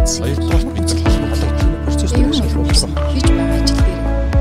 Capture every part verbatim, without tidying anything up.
мэдсэн. Хоёрдугаар бид нар холбогдох процесс дээр шалгуулсан. Хийж байгаа ажил дээр.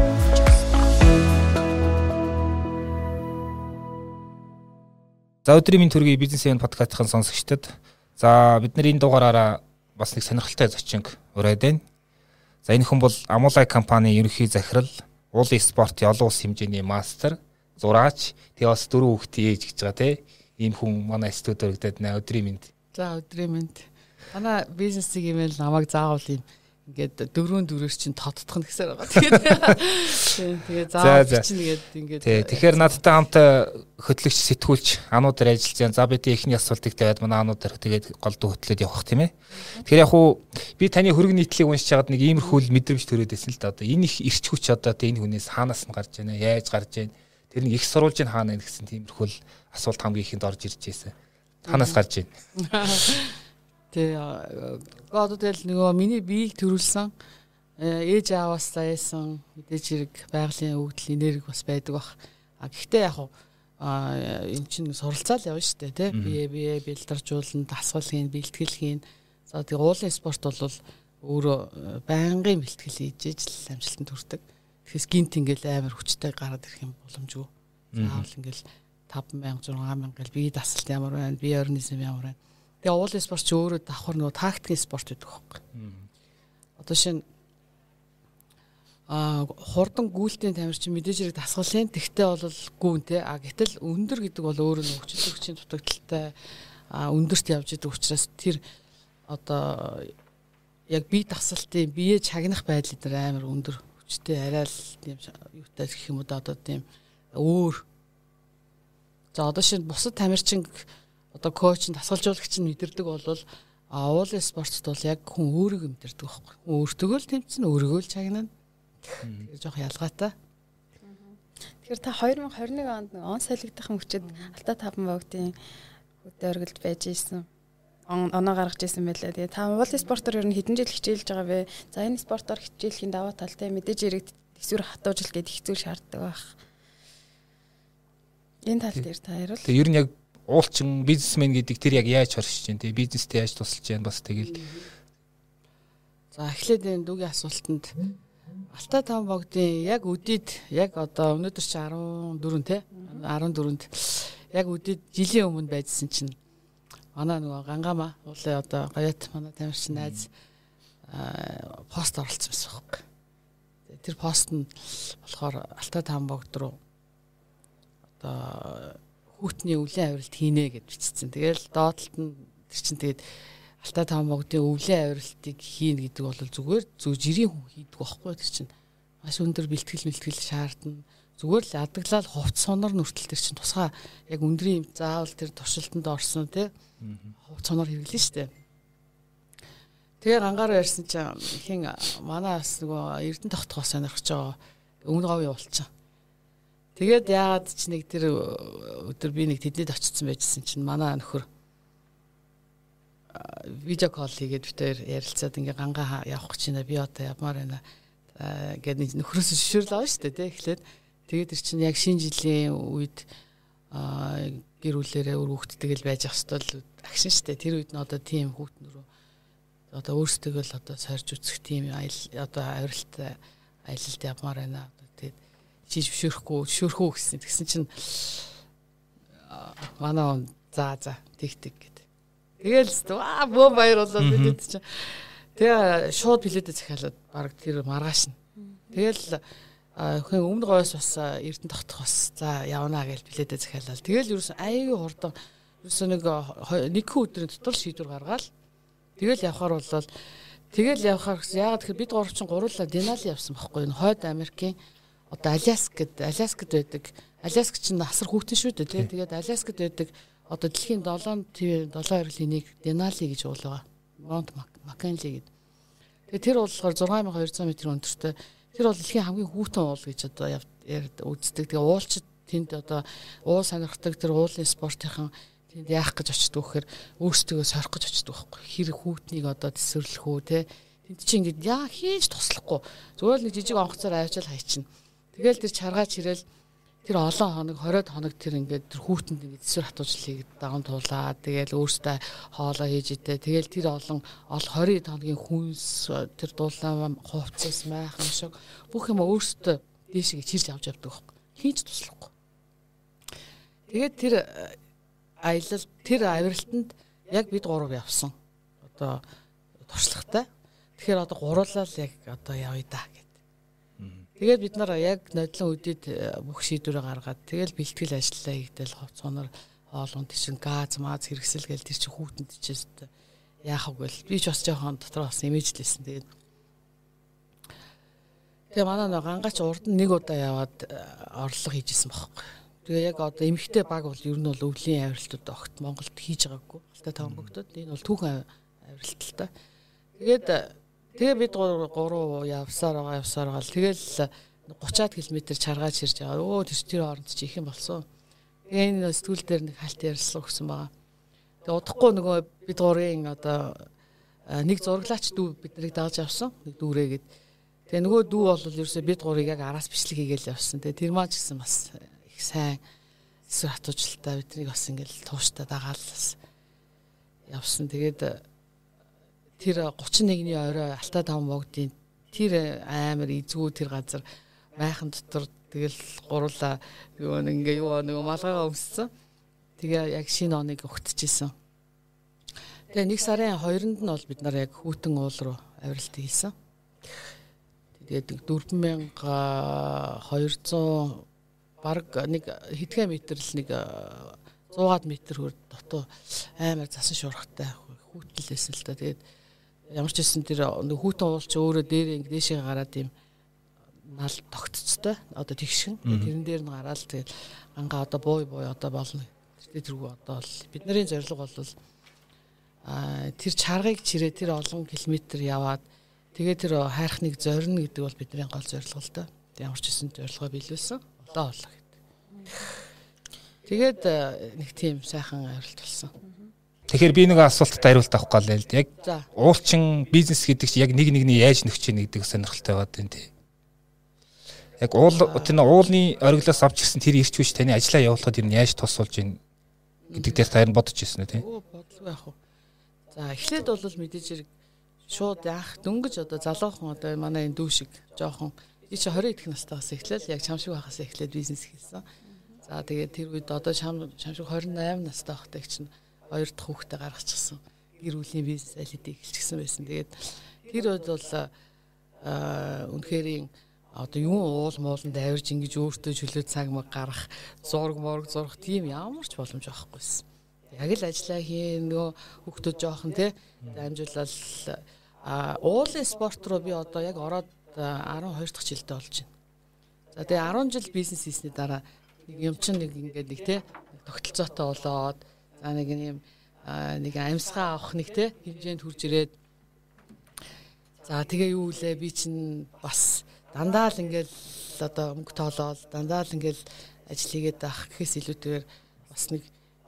За өдрийн минь төргийн бизнес ивент подкастын сонсогчдод за бидний энэ дугаараараа бас нэг сонирхолтой зочин ураад байна. За энэ хүн бол Amolai компани ерөнхий захирал, уулын спортын олон улс хэмжээний мастер, зураач, тэгээ бас дөрөв хүүхдийн ээж гэж байгаа те. Ийм хүн манай студид өргөдөд нэ өдрийн минь. За өдрийн минь. Манай бизнесийг юм л намайг заавал юм ингээд дөрвөн дөрөөр чинь тодтох нь гэсээр байгаа. Тэгээд тэгээд заавал чинь ингээд ингээд тий. Тэгэхээр надтай хамт хөтлөгч сэтгүүлч ануудаар ажиллаж байна. За бидний эхний асуултыг тавиад манай ануудаар тэгээд голдуу хөтлөөд явах тийм ээ. Тэгэхээр яг хуу би таны хөрөг нийтлийг уншиж байгаад нэг иймэрхүү мэдрэмж төрөөд байсан л да. Одоо энэ их эрч хүч одоо тэ энэ хүнээс хаанаас нь гарч байна, яаж гарч байна. Тэр нэг их сурвалж нь хаана вэ гэсэн тиймэрхүү асуулт хамгийн ихэнд орж ирж байсан. Хаанаас гарч байна? Тэ одоо тэгэл нөгөө миний биеийг төрүүлсэн ээж ааваасаа яасан мэдээж хэрэг байгалийн өвдөл энерги бас байдаг бах. А гэхдээ яг аа эн чинь суралцаал явна шүү дээ тий. Бие бие бэлдэржүүлэн дасгал хийн бэлтгэл хийн. За тэгээ уулын спорт бол өөрөө байнгын бэлтгэл хийж ижил амжилтанд хүрдэг. Тэгэхээс гинт ингээл амар хүчтэй гараад ирэх юм боломжгүй. Заавал ингээл таван мянга зургаан мянга гэл бие дасалт ямар байна, бие организм ямар байна. Тэгээ уулын спорт ч өөрөө давхар нөгөө тактикийн спорт гэдэг байхгүй. Одоо шинэ а хурдан гүйлтийн тамирчин мэдээж хэрэг дасгалын тэгтээ бол гүн те а гэтэл өндөр гэдэг бол өөрөө нөгөө хүчин төгсгийн дутагдaltaй а өндөрт явж идэг учраас тэр одоо яг бие дасалтын бие чагнах байдал дээр амар өндөр хүчтэй арай л тийм юутай гэх юм уу одоо тийм өөр. За одоо шинэ бусад тамирчин одоо коуч дасгалжуулагч нь мэдэрдэг бол уулын спортт бол яг хүн өөрийгөө мэдэрдэг байхгүй. Өөртөө л тэмцэн өөрийгөө л чагнана. Тэр жоох ялгаатай. Тэгэхээр та хоёр мянга хорин нэг онд он солигдох мөчөд Алтай таван богдын хөдөлгөлд байж ийсэн. Оноо гаргаж ийсэн байлаа. Тэгээ та уулын спортоор ер нь хэдэн жил хичээлж байгаа вэ? За энэ спортоор хичээлхийн даваа талтай мэдээж хэрэг төсвөр хатуужилт гэдэг их зүйл шаарддаг байх. Энэ тал дээр та хариул. Тэгээ ер нь яг уулчин бизнесмен гэдэг тэр яг яаж хоршиж байна те бизнестэй яаж тусалж байна бас тэгэл. За эхлээд энэ дүүгийн асуултанд Алтай таван богдын яг өдид яг одоо өнөөдөр чи арван дөрөв те арван дөрөвд яг өдид жилийн өмнө байжсэн чинь манай нөгөө Гангама уулын одоо гаят манай тамирчин найз пост оруулсан байсан байхгүй. Тэр пост нь болохоор Алтай таван богд руу одоо хүүтний өвлийн авиралт хийнэ гэж бичсэн. Тэгэл доотлолт нь тэр чинь тэгээд Алтай таван богдын өвлийн авиралтыг хийнэ гэдэг бол зүгээр зөв жирийн хүн хийдэг байхгүй тэр чинь. Маш өндөр бэлтгэл мэлтгэл шаардна. Зүгээр л адаглал хувц сонор нүртэл тэр чинь тусгай яг өндрийн заавал тэр туршилтанд орсон тий. Хувц сонор хэрэглэн штэ. Тэгээ гангаар ярьсан чинь хин манай бас нөгөө Эрдэнэ тогтхоо сонирхож байгаа өмнө говийн уулчин. Тэгээд яагаад ч нэг тэр өдөр би нэг тэднийд очсон байжсэн чинь манай нөхөр видео колл хийгээд битээр ярилцаад ингээ гангаа явах гэж байна би одоо явмаар байна гэдэг нөхрөөс шишрэл аваа шүү дээ тий эхлээд тэгээд тэр чинь яг шинэ жилийн үед гэр бүлэрээ өр хүүхдтэйгэл байж ах хэвэл агшин шүү дээ тэр үед нь одоо тийм хүүхднөрөө одоо өөрсдөө л одоо сорж үцэх тийм одоо авиралт аялалд явмаар байна тэгээд чи зөвшөөрөхгүй зөвшөөрөхгүй гэсэн. Тэгсэн чинь манай за за тэг тэг гэдэг. Тэгээл аа бөө баяр болоод бид чинь. Тэгээ шууд билетээ захиалаад баг тэр маргааш нь. Тэгэл хин өмнө гоёс бас Эрдэнэ тогтох бас за явнаа гэж билетээ захиалаад. Тэгэл ерөөсөн аягүй хурдан ерөөсөн нэг нэг өдрийн дотор шийдвэр гаргаад тэгэл явхаар болол тэгэл явхаар яагаад тэгэхээр бид гурав чинь гурлаа Денали явсан байхгүй юу? Хойд Америкийн одоо Аляск гэдэг Аляскад байдаг. Аляск чинь асар хүүхдэн шүү дээ тий. Тэгээд Аляскад байдаг одоо дэлхийн долоон долоон авирлын нэг Денали гэж уул байгаа. Монт Маккенли гэдэг. Тэгээд тэр болохоор зургаан мянга хоёрцоо метр өндөртэй. Тэр бол дэлхийн хамгийн хүүтэн уул гэж одоо үздэг. Тэгээд уулчид тэнд одоо уул сонирхдаг тэр уулын спортынхан тэнд яах гэж очдөг вэхээр өөрсдөө сорих гэж очдөг байхгүй. Хэрэг хүүтнийг одоо төсвөрлөх үү тий. Тэнд чинь ингээд яа хийж туслахгүй. Зүгээр л нэг жижиг онгоцоор авчаал хайчихна. Тэгэл тэр чаргаач ирэл тэр олон хоног хоройд хоног тэр ингээд тэр хүүтэнд ингээд эсвэр хатуужлыг даван туулаад тэгэл өөртөө хоолоо хийж идэ. Тэгэл тэр олон ол двадцать хоногийн хүнс тэр дуулаа хувцас майхан шиг бүх юм өөртөө дээшээ чирж авч явдаг байхгүй. Хийж туслахгүй. Тэгээд тэр аялал тэр авиралтанд яг бид гурав явсан. Одоо туршлагатай. Тэгэхээр одоо гуруулаа л яг одоо явъя да гэд. Тэгээд бид нар яг нодлон үдэд бүх шийдвэрээ гаргаад тэгэл бэлтгэл ажиллаа хийгдэл хувцсоноор хоолунд чинь газ маз хэрэгсэл гээл тэр чинь хүүтэнд чижээс яах вэ гэл би ч бас жоохон дотор бас имижлээсэн. Тэгээд тэгээ манай нэг гангач урд нь нэг удаа яваад орлого хийжсэн байхгүй. Тэгээ яг одоо эмэгтэй баг бол ер нь бол өвлийн авиралтууд огт Монголд хийж байгаагүй. Алтай таван бөгтөд энэ бол түүхэн авиралт л та. Тэгээд тэгээ бид гурав явсаар байгаа явсаар байгаа л тэгэл thirty км чаргаач ирж байгаа. Өө тэр тэр хооронд чи их юм болсон. Тэгээ энэ сэтгүүл дээр нэг хальт ярьсан өгсөн байгаа. Тэгээ удахгүй нөгөө бид гурийн одоо нэг зураглаач дүү бид нарыг дааж авсан. Нэг дүүрээгээд. Тэгээ нөгөө дүү бол ерөөсөө бид гурыг яг араас бичлэг хийгээл явсан. Тэгээ тэр маань ч гэсэн бас их сайн эсвэр хатуужилтаа биднийг бас ингээл тууштай дагаалсан явсан. Тэгээд тэр thirty-one-ны орой Алтай таван богдын тэр амар эзгүй тэр газар майхан дотор тэгэл гурлаа юу нэг ингээ юу нэг малгайгаа өмссөн. Тэгээ яг шинэ оныг өгтөжсэн. Тэгээ нэг сарын two-нд нь бол бид нар яг Хүүтэн уул руу авиралт хийсэн. Тэгээд four thousand two hundred бараг нэг хэдхэн метр л нэг one hundred метр хөр дотоо амар засан шуурхтай хүүтэлсэн л та. Тэгээд ямар ч гэсэн тэр хүүтэн уул ч өөрөө дээрээ ингэ дэшээ гараад юм нал тогтцтой одоо тэгшин тэрэн дээр нь гараад тэгээд ангаа одоо бууй бууй одоо болно. Тэр тэргүй одоо бол бидний зорилго бол а тэр чаргыг чирээ тэр олон километр яваад тэгээд тэр хайрхныг зорино гэдэг бол бидний гол зорилго л да. Ямар ч гэсэн зорилгоо биелүүлсэн. Олоо олоо гэдэг. Тэгээд нэг тийм сайхан авиралт болсон. Тэгэхээр би нэг асуултад хариулт авах гал л яг уулчин бизнес гэдэг чинь яг нэг нэгний яаж нөхч ийн гэдэг сонирхолтой байгаад байна тий. Яг уул тэр уулны ориглоос авч ирсэн тэр ирч хүч таны ажлаа явуулахад ер нь яаж тусалж ийн гэдэг дээр таар нь бодож ирсэн үү тий. Оо бодлоо яах вэ. За эхлээд бол мэдээж хэрэг шууд яах дөнгөж одоо залуухан одоо манай энэ дүү шиг жоохон би чи twenty идэх настайгаас эхлээл яг чам шиг байхаас эхлээд бизнес хийсэн. За тэгээд тэр үед одоо чам чам шиг twenty-eight настай байхдаа чинь хоёр дахь хүүхдээ гаргачихсан. Гэр бүлийн бизнес алидыг эхэлчихсэн байсан. Тэгээд тэр үед бол аа үнэхээр одоо юу уул мууланд авирж ингэж өөртөө чөлөө цаг маг гарах, зураг морг зурх тийм ямар ч боломж байхгүй. Яг л ажиллаа хийн нөгөө хүүхдүүд жоохон тий дамжуулал а уулын спорт руу би одоо яг ороод twelve дахь жилдээ болж байна. За тэгээ ten жил бизнес хийсний дараа нэг юм чинь нэг ингээд нэг тий тогтолцоотой болоод за нэг юм нэг амьсгаа авах нэг тий хэмжээнд хүрж ирээд за тэгээ юу лээ би чинь бас дандаа л ингээд одоо мөнгө тоолоод дандаа л ингээд ажил хийгээд байх гэхээс илүүтэйгээр бас нэг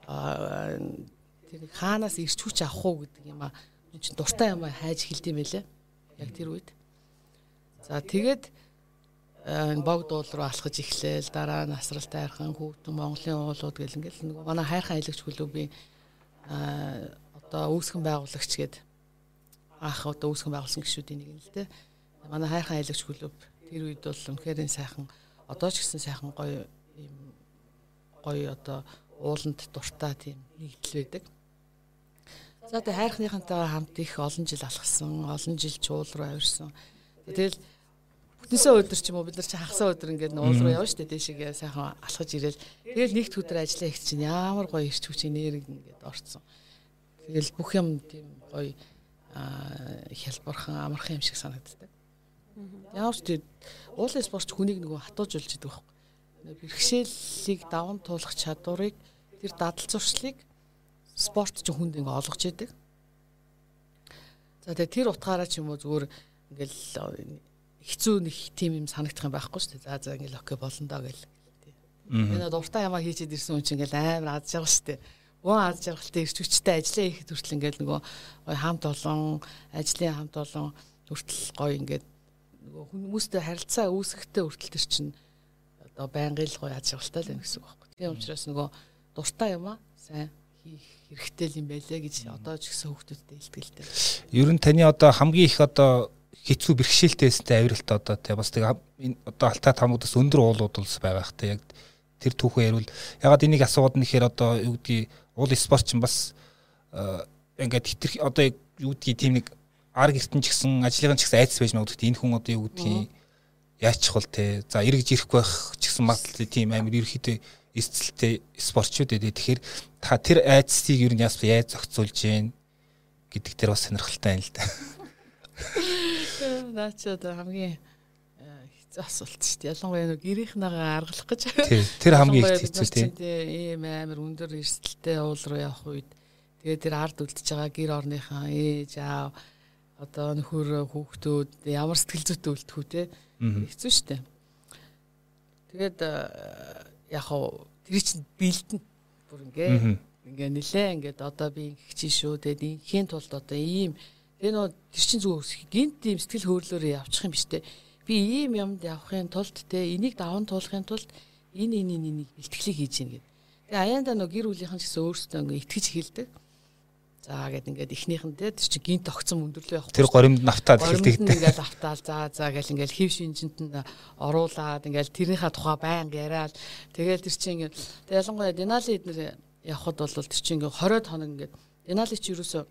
тэр хаанаас ирч хүч авах уу гэдэг юм а чинь дуртай юм хайж эхэлдэм байлээ яг тэр үед. За тэгээд богд уул руу алхаж эхлээл дараа насралтай хайрхан хүүтэн Монголын уулууд гэл ингээл нөгөө манай хайрхан аялагч клубын одоо үүсгэн байгуулагч гээд анх одоо үүсгэн байгуулсан гишүүдийн нэг юм л те. Манай хайрхан аялагч клуб тэр үед бол үнэхээр сайхан одоо ч гэсэн сайхан гоё юм гоё одоо ууланд дуртай тийм нэгдэл байдаг. За тэгээ хайрхныхантайгаа хамт их олон жил алхсан, олон жил чуул руу авирсан. Тэгэл бүтэнсээ өдөр ч юм уу бид нар чи хагасаа өдөр ингээд уул руу явна штэ дэшигээ сайхан алхаж ирээл. Тэгэл нэгт өдөр ажиллаа их чинь ямар гоё ирч хүч энерги ингээд орцсон. Тэгэл бүх юм тийм гоё хялбархан амархан юм шиг санагддаг. Ямар ч тийм уулын спорт хүнийг нөгөө хатуужулж идэг байхгүй. Бэрхшээлийг даван туулах чадварыг тэр дадал зуршлыг спорт ч хүнд ингээ олгож идэг. За тэгээ тэр утгаараа ч юм уу зүгээр ингээл хэцүү нэг тим юм санагдах юм байхгүй шүү дээ. За за ингээл окей болно доо гэл. Энэ дуртай ямаа хийчихэд ирсэн хүн чинь ингээл амар аз жаргал шүү дээ. Гоо аз жаргалтай ирч хүчтэй ажиллаа хийхэд хүртэл ингээл нөгөө гоё хамт олон ажлын хамт олон хүртэл гоё ингээд нөгөө хүмүүстэй харилцаа үүсгэхдээ хүртэл тэр чинь одоо байнгын л гоё аз жаргалтай л байна гэсэн үг байхгүй. Тийм учраас нөгөө дуртай юм аа сайн хийх хэрэгтэй юм байлээ гэж одоо ч гэсэн хүүхдүүдтэй илтгэлтэй. Ер нь таны одоо хамгийн их одоо хэцүү бэрхшээлтэйстэй авиралт одоо тий бас тэг одоо алтаа тамуудаас өндөр уулууд улс байгаа хта яг тэр түүхээ ярил ягаад энийг асууад нэхэр одоо юу гэдгийг уул спорт ч бас ингээд хэтэр одоо юу гэдгийг тийм нэг арг эртэн ч гэсэн ажлын ч гэсэн айдас байж магадгүй энэ хүн одоо юу гэдгийг яачих бол те за эргэж ирэхгүй байх ч гэсэн магадлал тийм амир ерөөхдөө эсцэлтэй спортчууд ээ тэгэхээр та тэр айдсыг ер нь яаж яаж зохицуулж гин гэдэг тэр бас сонирхолтой байна л да. Наач одоо хамгийн хэцүү асуулт шүү дээ. Ялангуяа нэг гэрийнхнээгээ аргалах гэж. Тэр хамгийн хэцүү тийм. Ийм амар өндөр эрсдэлтэй уул руу явах үед тэгээд тэр ард үлдчихэж байгаа гэр орныхаа ээж аав одоо нөхөр хүүхдүүд ямар сэтгэл зүйтэй үлдэх үү те хэцүү шүү дээ. Тэгээд яг хоо тэр чинь бэлдэн бүр ингээ ингээ нилээ ингээд одоо би ингэх чинь шүү тэгээд инхийн тулд одоо ийм тэгээ нөө тэр чинь зүгээр гинт тийм сэтгэл хөдлөлөөр явчих юм биш те би ийм юмд явахын тулд те энийг даван туулахын тулд энэ энэ энийг бэлтгэлийг хийж гин гэдэг. Тэгээ аяанда нөө гэр бүлийнхэн ч гэсэн өөрсдөө ингээ итгэж хэлдэг. За гэд ингээд ихнийхэн те тэр чинь гинт огцом өндөрлөө явах. Тэр горимд нафтаад хэлдэг. Ингээд автаал за за гэл ингээд хев шинжинд нь оруулаад ингээд тэрийнхаа тухай байнга яриад тэгэл тэр чинь ингээд ялангуяа Денали эднэр явхад бол тэр чинь ингээд двадцать хоног ингээд Денали ч юусоо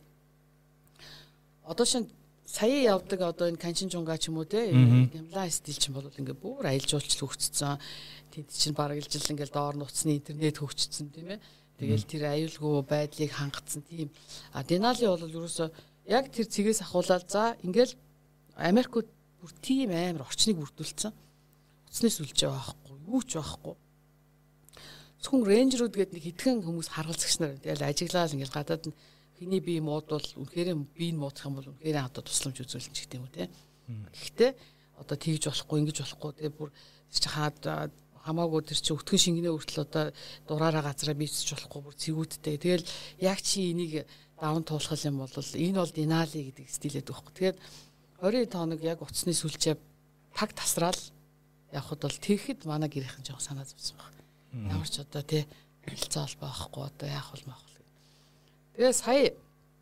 одоо шин сая явдаг одоо энэ канчин жунга ч юм уу те ямлаа стил чинь бол ингээд бүр аялал жуулчлал хөгжсөн. Тэд чинь бараг л жил ингээд доор нуцны интернет хөгжсөн тийм ээ. Тэгэл тэр аюулгүй байдлыг хангацсан тийм. А Денали бол ерөөсөө яг тэр цэгээс ахуулаад за ингээл Америкууд бүр тийм амар орчныг бүрдүүлсэн. Уцнаас үлж байгаа байхгүй, юу ч байхгүй. Зөвхөн рейнжерүүд гээд нэг хитгэн хүмүүс харгалзагч нар. Тэгэл ажиглал ингээл гадаад нь хиний бие муудвал үнэхээр биеийг муудах юм бол үнэхээр одоо тусламж үзүүлнэ гэх юм үү те. Гэхдээ одоо тэгж болохгүй, ингэж болохгүй тэгээ бүр чи хаад хамаагүй тэр чи өтгөн шингэнээ хүртэл одоо дураараа газараа бийцэж болохгүй бүр цэгүүдтэй. Тэгэл яг чи энийг даван туулах юм бол энэ бол Денали гэдэг стилээд байхгүй. Тэгээд двадцать хоног яг уцсны сүлжээ таг тасраал явхад бол тэгэхэд манай гэрийнхэн жоох санаа зовсон баг. Ямар ч одоо тий хэлцээ холбоо байхгүй одоо яах вэ маах вэ. Тэгээ сая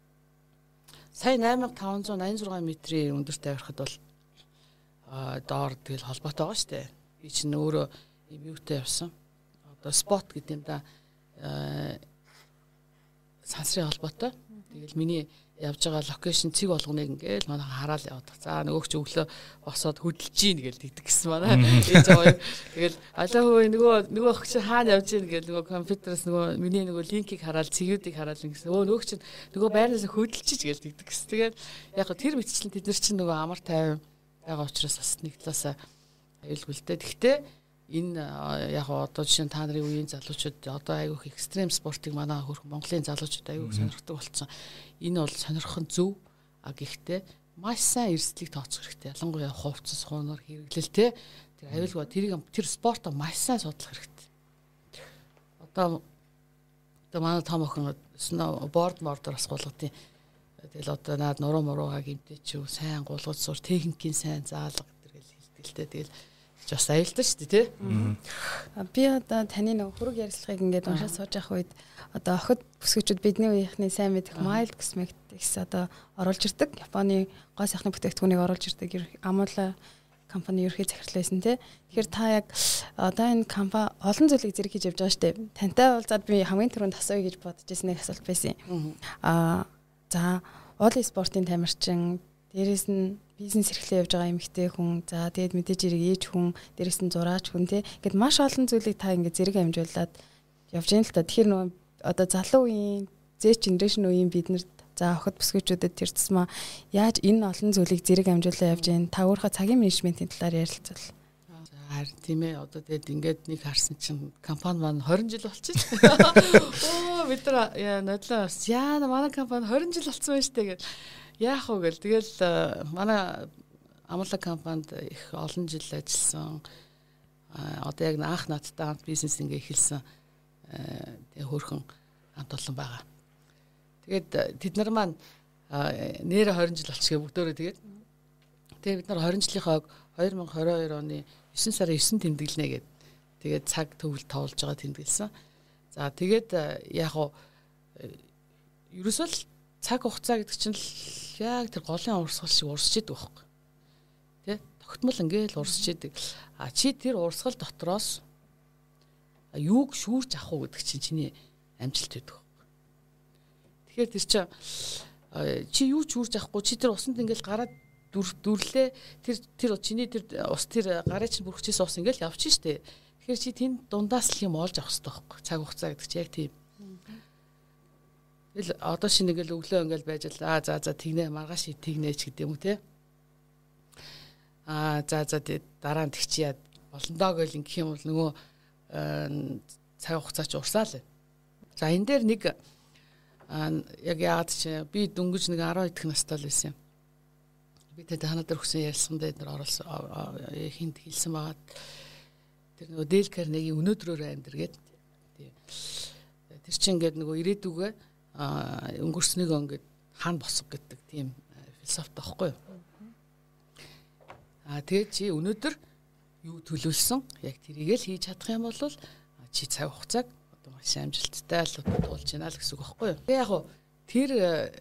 сая найман таван зуун найман зургаан метрийн өндөрт авирахад бол а доор тэгэл холбоотой байгаа шүү дээ. Би чинь өөрөө юм юутай явсан. Одоо спот гэдэг юм да сансрын холбоотой. Тэгэл миний явж байгаа локейшн цэг болгоныг ингээл манай хараал яваад. За нөгөөч өглөө босоод хөдөлж гин гээл тэгдэг гэсэн манай. Ээж аваа. Тэгэл алаа хөө нөгөө нөгөө охч хаана явж гин гээл нөгөө компьютерээс нөгөө миний нөгөө линкийг хараад цэгүүдийг хараад ингэсэн. Өө нөгөөч нөгөө байрнаас хөдөлж ч гээл тэгдэг гэсэн. Тэгээд яг тэр мэтчлэн тэд нар чинь нөгөө амар тайван байгаа учраас бас нэг талаасаа аюулгүйтэй. Гэхдээ энэ яг одоо жишээ нь та нарын үеийн залуучууд одоо айгүйх экстрем спортыг манай хөрх Монголын залуучууд айгүйх сонирхдаг болсон. Энэ бол сонирхох нь зөв. А гэхдээ маш сайн эрсдлийг тооцох хэрэгтэй. Ялангуяа хувцас хуунаар хэрэглэл те тэр аюулгүй тэрийг тэр спортоо маш сайн судлах хэрэгтэй. Одоо одоо манай том охин борд мордор бас гулгадیں۔ Тэгэл одоо наад нуруу муруугаа гинтээ ч юу сайн гулгаж сур техникийн сайн заалга гэдэг л хэлтгэлтэй. Тэгэл бас аюултай шүү дээ тий. Би одоо таны нэг хөрөг ярилцлагыг ингээд уншаад сууж явах үед одоо охид бүсгүүчүүд бидний үеийнхний сайн мэдэх mild cosmetics одоо оруулж ирдэг. Японы гоо сайхны бүтээгдэхүүнийг оруулж ирдэг амуула компани ерхий захирлаа байсан тий. Тэгэхээр та яг одоо энэ компани олон зүйлийг зэрэг хийж явж байгаа шүү дээ. Тантай уулзаад би хамгийн түрүүнд асууя гэж бодож ирсэн нэг асуулт байсан. Аа за уул спортын тамирчин дээрээс нь бизнес эрхлээ явж байгаа эмэгтэй хүн за тэгээд мэдээж ирэг ээж хүн дээрээс нь зураач хүн тий гэд маш олон зүйлийг та ингээд зэрэг амжуулаад явж байгаа л та. Тэгэхээр нөгөө одоо залуу үеийн Z generation үеийн биднэрт за охид бүсгүүчүүдэд тэр тусмаа яаж энэ олон зүйлийг зэрэг амжуулаад явж байгаа та өөрийнхөө цагийн менежментийн талаар ярилцвал. Харин тийм ээ одоо тэгээд ингээд нэг харсан чинь компани маань двадцать жил болчих. Оо бид нар яа нодлоо яа манай компани двадцать жил болсон байна штэ гэд яах вэ гэл тэгэл манай амлаг компанид их олон жил ажилласан. Одоо яг анх надтай хамт бизнес ингээ эхэлсэн тэгээ хөөрхөн хамт олон байгаа. Тэгээд тэд нар маань нэрэ двадцать жил болчихгоо бүгдөө тэгээд тэгээ бид нар двадцать жилийнхаа двадцать двадцать two оны нine сарын nine тэмдэглэнэ гэд Тэгээд цаг төвл тоолж байгаа тэмдэглэсэн. За тэгээд яг уу ерөөсөө л цаг хугацаа гэдэг чинь л яг тэр голын урсгал шиг урсч идэг байхгүй. Тэ? Тогтмол ингээл урсч идэг. А чи тэр урсгал дотроос юуг шүүрч авах уу гэдэг чинь чиний амжилт байдаг. Тэгэхээр тэр чинь чи юу ч шүүрч авахгүй чи тэр усанд ингээл гараад дүрлээ тэр тэр чиний тэр ус тэр гарын чинь бүрхчихсэн ус ингээл явчих штэ. Тэгэхээр чи тэнд дундаас л юм олж авах хэрэгтэй байхгүй. Цаг хугацаа гэдэг чинь яг тийм. Тэгэл одоо шинэ ингээл өглөө ингээл байж л аа за за тэгнэ маргааш тэгнэч гэдэг юм уу те. Аа за за дараа нь тэгчихэд болондоо гэл ингэх юм бол нөгөө цаг хугацаа чи урсаал. За энэ дээр нэг яг яагаад чи би дөнгөж нэг арван идэх настай л байсан юм. Би тэ танаа дээр хүсэн ярьсан дээр оруулсан хинт хэлсэн байгаа. Тэр нөгөө Дейл Карнегийн өнөөдрөөр амьдр гэдэг. Тэр чинь ингээд нөгөө ирээдүгөө өнгөрснийг ингээд хаана босго гэдэг тийм философи таахгүй юу. Аа тэгээд чи өнөөдөр юу төлөвлөсөн яг тэрийг л хийж чадах юм бол чи цаг хугацааг одоо маш амжилттай л туулж яана л гэсэн үг байхгүй юу. Тэгээ яг тэр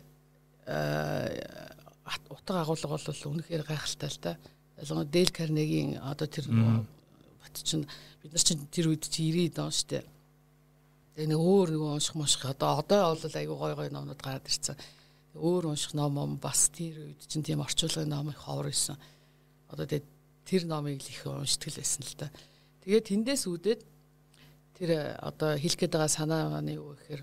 утга агуулга бол үнэхээр гайхалтай л да. Ялангуяа Дейл Карнегийн одоо тэр бат чинь бид нар чинь тэр үед чи ирээд он штэ. Тэгээ нэг өөр нэг унших муших одоо одоо бол айгүй гой гой номнууд гараад ирсэн. Өөр унших ном ном бас тэр үед чинь тийм орчуулгын ном их ховор байсан. Одоо тэгээ тэр номыг л их уншдаг л байсан л да. Тэгээд тэндээс үүдээд тэр одоо хэлэх гээд байгаа санаа маань юу гэхээр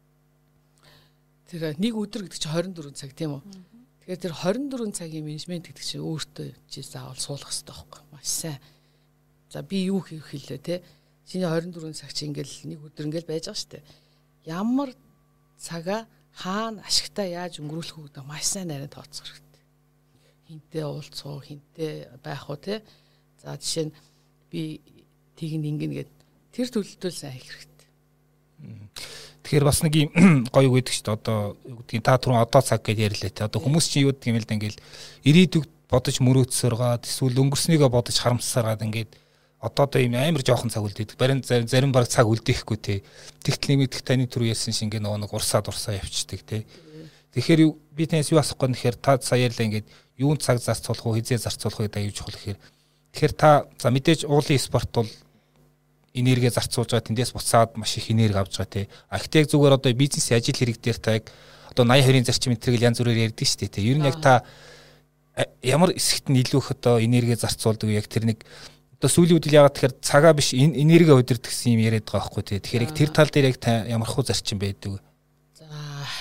тэр нэг өдөр гэдэг чинь хорин дөрвөн цаг тийм үү. Тэгэхээр тэр хорин дөрвөн цагийн менежмент гэдэг чинь өөртөө чи заавал суулгах хэрэгтэй байхгүй маш сайн. За би юу хийх хэлээ те. Чиний хорин дөрвөн цаг чи ингээл нэг өдөр ингээл байж байгаа шүү дээ. Ямар цагаа хаана ашигтаа яаж өнгөрүүлэх үү гэдэг маш сайн нарийн тооцох хэрэгтэй. Хинтээ уулзах, хинтээ байх уу те. За жишээ нь би тийг ингэн гээд тэр төлөлтөө сайн хийх хэрэгтэй. Тэгэхээр бас нэг юм гоё үг гэдэг шүү дээ. Одоо юу гэдгийг та түрүүн одоо цаг гэж ярьлаа те. Одоо хүмүүс чинь юу гэдэг юм л да ингээл ирээдүг бодож мөрөөдсөөр гаад эсвэл өнгөрснийгөө бодож харамсаар гад ингээд одоо одоо ийм амар жоохон цаг үлдээдэг. Барин зарим баг цаг үлдээхгүй те. Тэгтэл нэмэгдэх таны түрүү ярьсан шиг ингээ нөгөө нэг урсаад урсаа явчихдаг те. Тэгэхээр би танаас юу асах гээд нэхэр та сая ярьлаа ингээд юунд цаг зарцуулах уу, хизээ зарцуулах уу гэдэг аюулж чухал гэхээр. Тэгэхээр та за мэдээж уулын спорт бол энерги зарцуулж байгаа тэндээс буцаад маш их энерги авч байгаа те. А ихтэй зүгээр одоо бизнес ажил хэрэг дээр та яг одоо восемь хоёрын зарчим энэ төрөл янз бүрээр ярьдаг шүү дээ те. Ер нь яг та ямар хэсэгт нь илүү их одоо энерги зарцуулдаг яг тэр нэг одоо сүүлийн үед л яагаад тэгэхээр цагаа биш энерги удирдах гэсэн юм яриад байгаа байхгүй тий. Тэгэхээр яг тэр тал дээр яг та ямар хөө зарчим байдаг вэ? За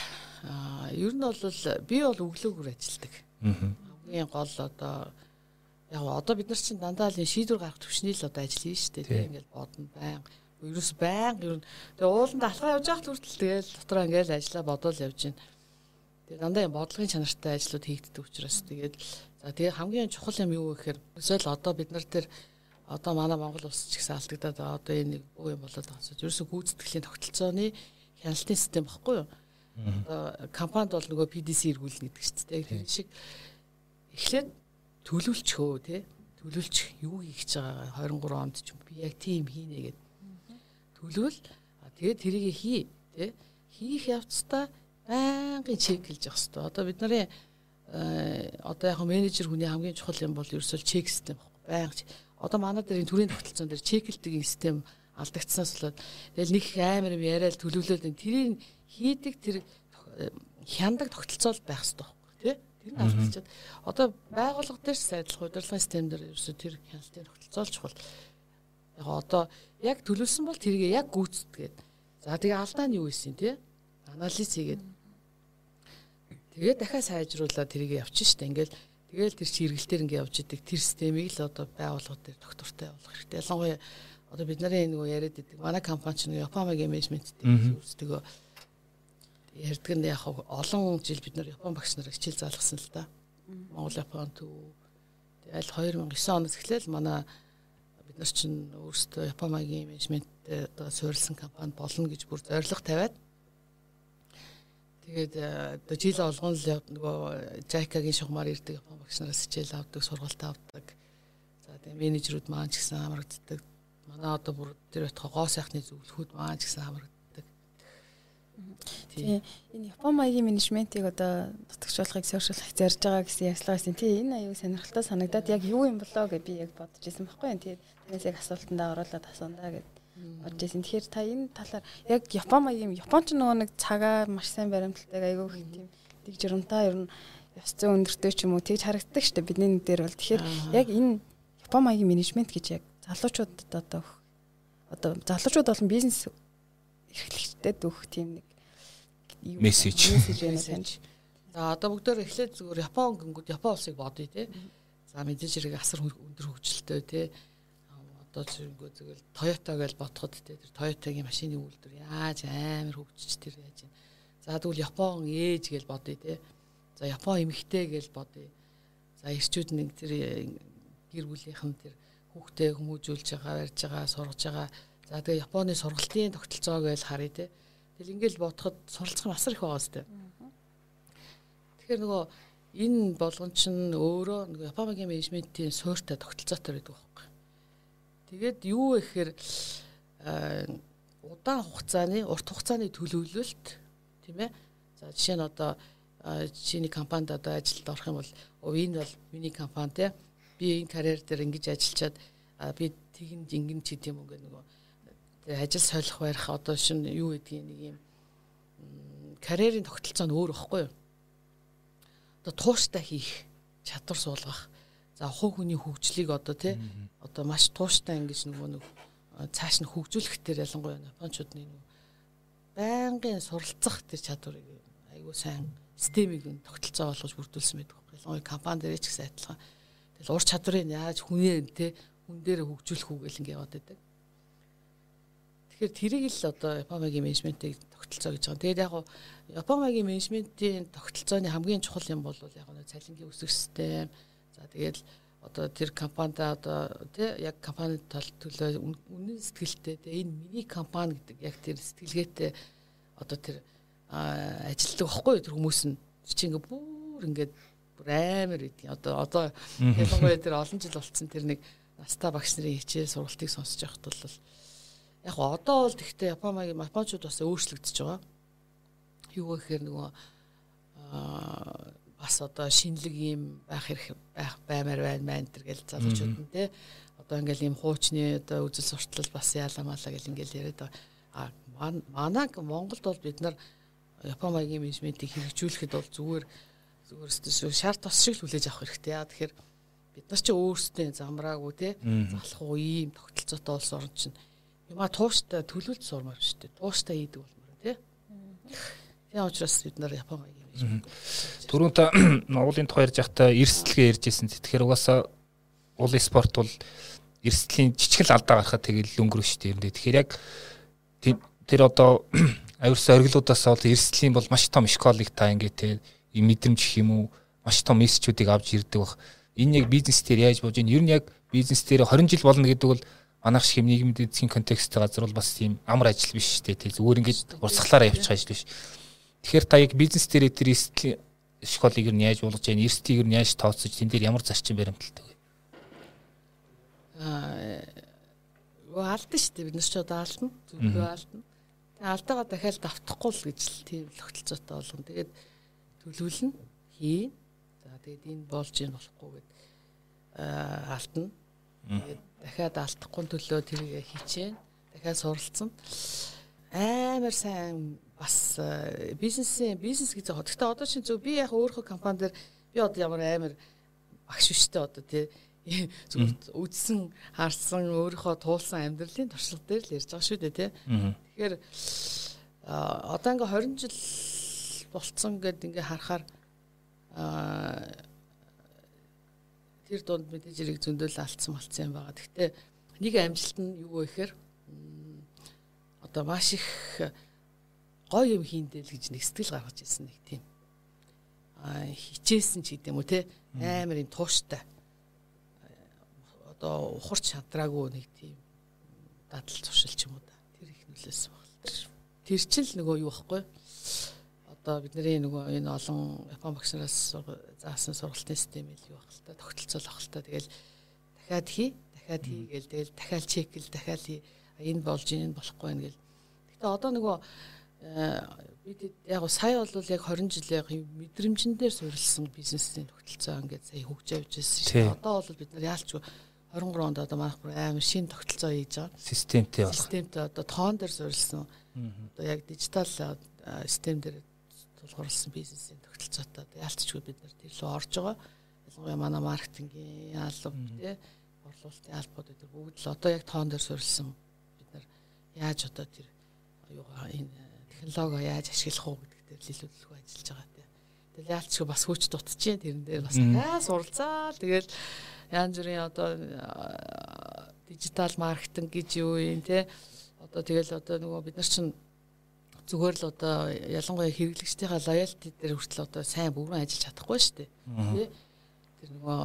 ер нь бол би бол өглөөгөр ажилладаг. Хамгийн гол одоо яг одоо бид нар чинь дандаа л шийдвэр гаргах төвшний л одоо ажил хийж штэ тий. Ингээл бодно байн. Ерөөс байн ер нь тэгээ ууланд алхаа явж байхад хүртэл тэгэл дотроо ингээл ажиллаа бодвол явж байна. Тэгээ дандаа юм бодлогын чанартай ажлууд хийгддэг учраас тэгээд за тэгээ хамгийн чухал юм юу гэхээр өсөөл одоо бид нар тэр одоо манай Монгол улс ч гэсэн алдагдаад одоо энэ юу юм болоод байгаа юм. Ерөөсө гүйцэтгэлийн тогтолцооны хяналтын систем багхгүй юу? Одоо компанид бол нөгөө пи ди си эргүүлнэ гэдэг чинь тийм шиг эхлээд төлөвлөчхөө тий. Төлөвлөчих юу хийх гэж байгаа двадцать три онд ч би яг тийм хийнэ гэдэг. Төлөвл тэгээд тэрийг хий тий. Хийх явцдаа байнгын чеклж явах хэрэгтэй. Одоо бид нарын одоо яг менежер хүний хамгийн чухал юм бол ерөөсөө чек систем баггүй. Байнга одоо манай дээр энэ төрийн тогтолцоон дээр чеклдэг систем алдагдсанаас болоод тэгэл нэг амар юм яриад төлөвлөлт тэрийг хийдэг тэр хяндаг тогтолцоо байх хэрэгтэй байхгүй тий. Тэр нь алдчихад одоо байгууллага дээр сайдлах удирдлагын систем дээр ерөөсөө тэр хяналтын тогтолцоо л чухал. Яг одоо яг төлөвлөсөн бол тэрийг яг гүйцэтгээд. За тэгээ алдаа нь юу ийсэн тий? Анализ хийгээд тэгээ дахиад сайжруулаад тэрийг явчих штэ. Ингээл тэгэл тэр чиргэлтээр ингээ явж идэг тэр системийг л одоо байгууллага дээр доктортой болгох хэрэгтэй. Ялангуяа одоо бид нарын нөгөө яриад идэг манай компани ч Японы менежмент дээр үүсдэг ярьдаг нь яг олон жил бид нар Япон багш нарыг хичээл заалгасан л да. Монгол Япон төв тэгэл две тысячи девять оноос эхлээл манай бид нар чинь өөрсдөө Японы менежмент одоо суурилсан компани болно гэж бүр зорилго тавиад тэгээд одоо жил болгон л нөгөө Жайкагийн шугамар ирдэг Япон багш нараас хичээл авдаг, сургалт авдаг. За тэгээд менежерүүд маань ч гэсэн хамрагддаг. манай одоо бүр тэр байтугай гоо сайхны зөвлөхүүд маань ч гэсэн хамрагддаг. Тийм энэ Япон маягийн менежментийг одоо нутагчлахыг сошиаллах зорж байгаа гэсэн ярьцлагаас тийм энэ аюу сонирхолтой санагдаад яг юу юм болоо гэж би яг бодож ирсэн байхгүй юу. Тэгээд тэрнээс яг асуултанд оруулаад асуунаа гэж бодож ирсэн. Тэгэхээр та энэ талаар яг Япон маягийн Японч нөгөө нэг цагаа маш сайн баримталдаг аюу их тийм дэг жирамтай ер нь ёс зүйн өндөртэй ч юм уу тэгж харагддаг шүү дээ бидний дээр бол. Тэгэхээр яг энэ Япон маягийн менежмент гэж яг залуучуудад одоо одоо залуучууд болон бизнес эрхлэгчдэд өгөх тийм нэг мессеж мессеж байна тань. За одоо бүгдээр эхлээд зүгээр Япон гингүүд Япон улсыг бодъё те. За мэдээж хэрэг асар өндөр хөгжилтэй те. Одоо зүгээр зүгээр Toyota гэж бодоход те тэр Toyota-гийн машины үйлдвэр яаж амар хөгжиж тэр яаж юм. За тэгвэл Япон ээж гэж бодъё те. За Япон эмэгтэй гэж бодъё. За эрчүүд нэг тэр гэр бүлийнхэн тэр хүүхдээ хүмүүжүүлж байгаа, барьж байгаа, сургаж байгаа. За тэгээ Японы сургалтын тогтолцоог л харъя те. Тэгэл ингээл бодоход суралцах нь асар их байгаа сте. Тэгэхээр нөгөө энэ болгон чинь өөрөө нөгөө Японы менежментийн суурьтай тогтолцоотой байдаг байхгүй. Тэгээд юу вэ гэхээр удаан хугацааны, урт хугацааны төлөвлөлт тийм ээ. За жишээ нь одоо чиний компанид одоо ажилд орох юм бол энэ бол миний компани те. Би энэ карьер дээр ингэж ажиллачаад би тэгэн жингэн ч гэдэм үг нөгөө ажил солих барих одоо шин юу гэдгийг нэг юм карьерийн тогтолцоо нь өөр байхгүй юу? Одоо тууштай хийх, чадвар суулгах. За хувь хүний хөгжлийг одоо тий одоо маш тууштай ингэж нөгөө нэг цааш нь хөгжүүлэх дээр ялангуяа Япончуудны нөгөө байнгын суралцах тэр чадварыг айгүй сайн системийг тогтолцоо болгож бүрдүүлсэн байдаг байхгүй. Ялангуяа компани дээр ч гэсэн адилхан. Тэгэл ур чадварыг яаж хүнээ тий хүн дээр хөгжүүлэх үг гэл ингэ яваад байдаг. Тэгэхээр тэрийг л одоо Японы менежментийн тогтолцоо гэж байгаа. Тэгээд яг нь Японы менежментийн тогтолцооны хамгийн чухал юм бол яг нь цалингийн өсөх систем. За тэгээд одоо тэр компанид одоо тий яг компанид тал төлөө үнэн сэтгэлтэй тий энэ миний компани гэдэг яг тэр сэтгэлгээтэй одоо тэр ажилтдаг байхгүй тэр хүмүүс нь чи ингээ бүр ингээ бүр амар гэдэг. Одоо одоо ялангуяа тэр олон жил болцсон тэр нэг настаа багш нарын хичээл сургалтыг сонсож байхад бол яг одоо бол тэгтээ Японы Япончууд бас өөрчлөгдөж байгаа. Юу гэхээр нөгөө бас одоо шинэлэг юм байх хэрэг байх баймаар байна мэн тэр гэл залуучууд нь те одоо ингээл юм хуучны одоо үзэл суртал бас яаламалаа гэл ингээл яриад байгаа. А манайг Монголд бол бид нар Японы менежментийг хэрэгжүүлэхэд бол зүгээр зүгээр шарт тос шиг л хүлээж авах хэрэгтэй. Яа тэгэхээр бид нар ч өөрсдөө замраагүй те залах уу ийм тогтолцоотой улс орн чинь юма тууштай төлөвлөлт сурмаар шүү дээ. Тууштай ийдэг болмоор тий. Тийм учраас бид нар Японы юм. Түрүүн та уулын тухай ярьж байхдаа эрсдлэгээ ярьжсэн. Тэгэхээр угаасаа уулын спорт бол эрсдлийн жижигэл алдаа гарахад тэгэл өнгөрөх шүү дээ. Тэгэхээр яг тэр одоо авирсан оргилуудаас бол эрсдлийн бол маш том школыг та ингээ тий мэдрэмж гэх юм уу маш том мессежүүдийг авч ирдэг бах. Энэ яг бизнес дээр яаж болж ийн ер нь яг бизнес дээр хорин жил болно гэдэг бол манайх шиг нийгмийн эдийн контексттэй газар бол бас тийм амар ажил биш шүү дээ. Зүгээр ингээд урсгалаараа явчих ажил биш. Тэгэхээр та яг бизнес дээр тэр эрсдлийн школыг ер нь яаж болгож яана, эрсдлийг ер нь яаж тооцож, тэн дээр ямар зарчим баримталтай вэ? Аа, алдсан шүү дээ. Бид нар ч одоо алдна, зөвхөн алдна. Тэгээ алдаагаа дахиад давтахгүй л гэж л тийм тогтолцоотой болгоно. Тэгээд төлөвлөн хий. За тэгээд энэ болж ийн болохгүй гэд аа алдна. Тэгээд дахиад алдахгүй төлөө тэрийг хийчихээн. Дахиад суралцсан. Амар сайн бас бизнесийн бизнес гэж байгаа. Гэхдээ одоо чинь зөв би яг өөрөө компани дээр би одоо ямар амар багш биштэй одоо тий зүгээр үдсэн харсан өөрийнхөө туулсан амьдралын туршлага дээр л ярьж байгаа шүү дээ тий. Тэгэхээр одоо ингээ хорин жил болцсон гэд ингээ харахаар тэр донд мэдээж хэрэг зөндөөл алдсан болцсон юм байгаа. Гэхдээ нэг амжилт нь юу вэ гэхээр одоо маш их гоё юм хийндэл гэж нэг сэтгэл гаргаж ирсэн нэг тийм а хичээсэн ч гэдэм үү те амар юм тууштай одоо ухарч шадраагүй нэг тийм дадал зуршил ч юм уу да тэр их нөлөөсөн баг. Тэр чинь нөгөө юу байхгүй одоо бидний нөгөө энэ олон Япон багш нараас заасан сургалтын систем ил юу баг л та тогтолцоолох л та тэгэл дахиад хий дахиад хийгээл тэгэл дахиад чекэл дахиад энэ болж энэ болохгүй байна гэл. Гэтэ одоо нөгөө бид яг сая бол яг хорин жил яг мэдрэмжэн дээр суурилсан бизнесийн тогтолцоо ингээд сая хөгжиж явж байсан шүү дээ. Одоо бол бид нар яалчгүй хорин гурав онд одоо манайх бүр амар шинэ тогтолцоо хийж байгаа. Системтэй болох. Системтэй одоо тоон дээр суурилсан. Одоо яг дижитал систем дээр тулгуурласан бизнесийн тогтолцоотой одоо яалчгүй бид нар тэр лөө орж байгаа. Ялангуяа манай маркетингийн алба тий борлуулалтын албууд гэдэг бүгд л одоо яг тоон дээр суурилсан. Бид нар яаж одоо тэр юугаа энэ технологи яаж ашиглах уу гэдэг дээр илүү ажиллаж байгаа тий. Тэгэл яалчгүй бас хүч дутчихжээ тэрэн дээр бас аа суралцаа. Тэгэл янз бүрийн одоо дижитал маркетинг гэж юу юм тий. Одоо тэгэл одоо нөгөө бид нар чинь зүгээр л одоо ялангуяа хэрэглэгчдийнхаа лоялти дээр хүртэл одоо сайн бүрэн ажиллаж чадахгүй шүү дээ. Тий. Тэр нөгөө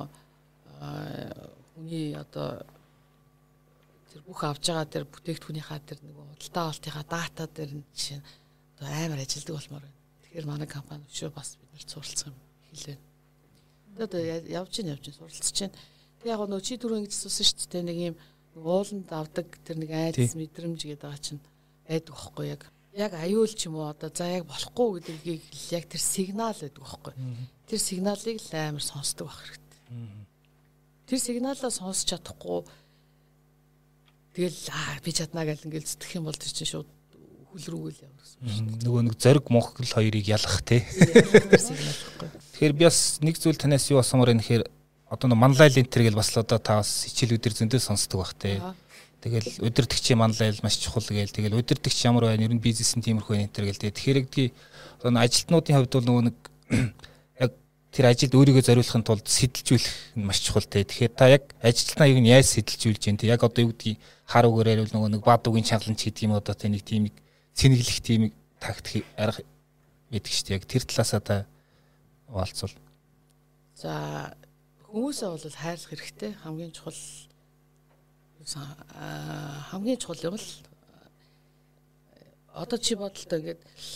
хүний одоо тэр бүх авж байгаа тэр бүтээгдэхүүнийхаа тэр нөгөө худалдаа авалтынхаа дата дээр нь жишээ нь одоо амар ажилдаг болмоор байна. Тэгэхээр манай компани өшөө бас бид нарт суралцах юм хэлээ. Тэгээд одоо явж ийн явж ийн суралцж чинь. Тэг яг нөгөө чи түрүү ингэж асуусан шүү дээ. Нэг юм ууланд авдаг тэр нэг айдас мэдрэмж гэдэг байгаа чинь байдаг байхгүй яг. Яг аюул ч юм уу одоо за яг болохгүй гэдгийг яг тэр сигнал байдаг байхгүй. Тэр сигналыг л амар сонсдог байх хэрэгтэй. Тэр сигналаа сонсч чадахгүй тэгэл аа би чаднаа гэл ингээл зүтгэх юм бол тэр чинь шууд хөл рүүгээл явсан шүү дээ. Нөгөө нэг зориг Монгол хоёрыг ялах тий. Тэгэхээр би бас нэг зүйл танаас юу асуумаар байна гэхээр одоо нэг манлайл энтер гэл бас л одоо та бас хичээлүүдэр зөндөө сонсдог бах тий. Тэгэл удирдахчийн манлайл маш чухал гээл тэгэл удирдахч ямар байна ер нь бизнесийн тиймэрхүү энтер гээл тий. Тэгэхээр гэдгийг одоо ажилтнуудын хувьд бол нөгөө нэг яг тэр ажилд өөрийгөө зориулахын тулд сэтэлжүүлэх нь маш чухал тий. Тэгэхээр та яг ажилтнаа юу яаж сэтэлжүүлж дээ тий. Яг одоо юу гэдгийг хар үгээр ярил нөгөө нэг бад үгийн чангаланч гэдэг юм одоо тий нэг тийм цэнэглэх тийм тактик арга байдаг шүү дээ. Яг тэр талаасаа та хаалцвал. За хүмүүсээ бол хайрлах хэрэгтэй. Хамгийн чухал хамгийн чухал юм л одоо чи бодолтой ингээд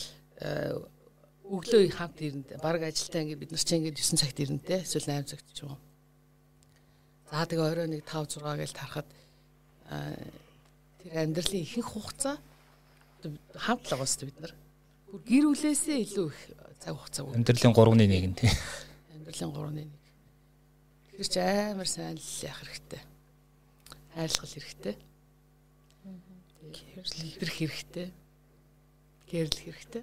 өглөө хамт ирэндээ баг ажилтаа ингээд бид нар чинь ингээд девять цагт ирэндээ эсвэл восемь цагт ч юм уу. За тэгээ орой нэг five six гээл тарахад тэр амьдралын ихэнх хугацаа хамт л байгаа шүү дээ бид нар. Бүр гэр бүлээсээ илүү их цаг хугацаа. Амьдралын three-ны нэг нь тий. Амьдралын three-ны нэг. Тэр чи амар сайн л яах хэрэгтэй. Хайрлах хэрэгтэй. Хэрлэх хэрэгтэй. Гэрлэх хэрэгтэй.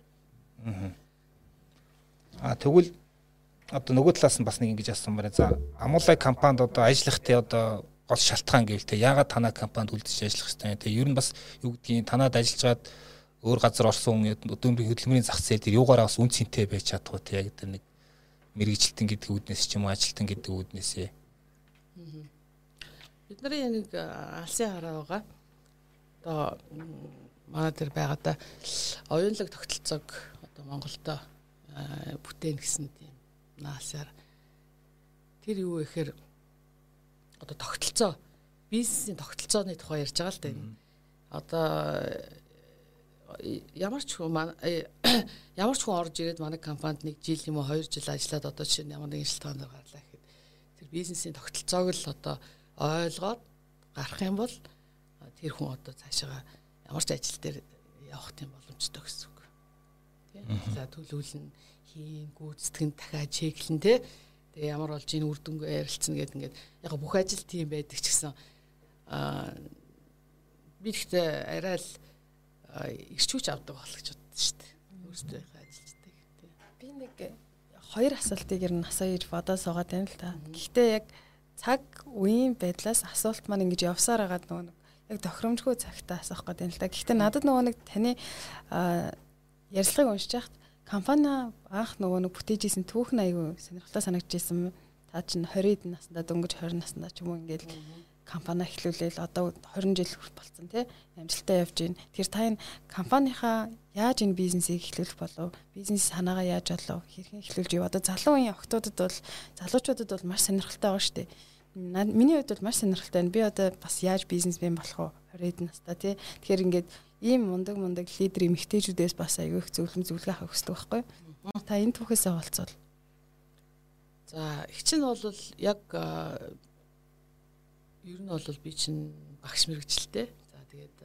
Аа тэгвэл одоо нөгөө талаас нь бас нэг ингэж асуусан байна. За Амуулай компанид одоо ажиллахтай одоо гол шалтгаан гэвэл те яагаад танай компанид үлдэж ажиллах хэрэгтэй те ер нь бас юу гэдгийг танад ажиллаж гад өөр газар орсон хүн өдөөмрийн хөдөлмөрийн зах зээл дээр юугаараа бас үн цэнтэй байж чадахгүй те яг тэр нэг мэрэгжилтэн гэдэг үүднээс ч юм уу ажилтан гэдэг үүднээсээ. Бидний нэг алсын хараа байгаа. Одоо манай дээр байгаадаа оюунлаг тогтолцоог одоо Монголдо бүтээн гэсэн тийм наасаар тэр юу гэхээр одоо тогтолцоо бизнесийн тогтолцооны тухай ярьж байгаа л да энэ. Одоо ямар ч хүн ямар ч хүн орж ирээд манай компанид нэг жил юм уу хоёр жил ажиллаад одоо чинь ямар нэгэн шалтгаанаар гарлаа гэхэд тэр бизнесийн тогтолцоог л одоо ойлгоод гарах юм бол тэр хүн одоо цаашаа ямар ч ажил дээр явах тийм боломжтой гэсэн үг. Тийм. За төлөвлөн хийн гүйцэтгэн дахиад чеклэн тий. Тэгээ ямар болж энэ үр дүнгээ ярилцсан гэдэг ингээд яг бүх ажил тийм байдаг ч гэсэн аа би ихтэй арай л ирчүүч авдаг болох гэж боддоо шүү дээ. Өөрсдөө ажилладаг тий. Би нэг хоёр асуултыг ер нь асууж бодоо суугаад байна л та. Гэхдээ яг цаг үеийн байдлаас асуулт маань ингэж явсаар байгаа нөгөө нэг яг тохиромжгүй цагтаа асуух гэдэг юм л та. Гэхдээ надад нөгөө нэг таны ярилцлагыг уншиж байхад компани анх нөгөө нэг бүтээж исэн түүхэн аягүй сонирхолтой санагдчихсэн. Та чинь twenty наснда дөнгөж twenty наснда ч юм уу ингээл компани эхлүүлээл одоо twenty жил болсон тий амжилттай явж байна. Тэгэхээр та энэ компанийхаа яаж энэ бизнесийг эхлүүлэх болов? Бизнес санаагаа яаж болов? Хэрхэн эхлүүлж ив? Одоо залуу үеийн охтуудад бол залуучуудад бол маш сонирхолтой байгаа шүү дээ. Миний хувьд бол маш сонирхолтой байна. Би одоо бас яаж бизнесмен болох вэ? twenty настай тий. Тэгэхээр ингээд ийм мундаг мундаг лидер эмэгтэйчүүдээс бас аягүй их зөвлөм зөвлөгөө авах хэрэгтэй байхгүй юу? Та энэ түүхээсээ болцвол. За их чинь бол яг ер нь бол би чинь багш мэрэгчлээ. За тэгээд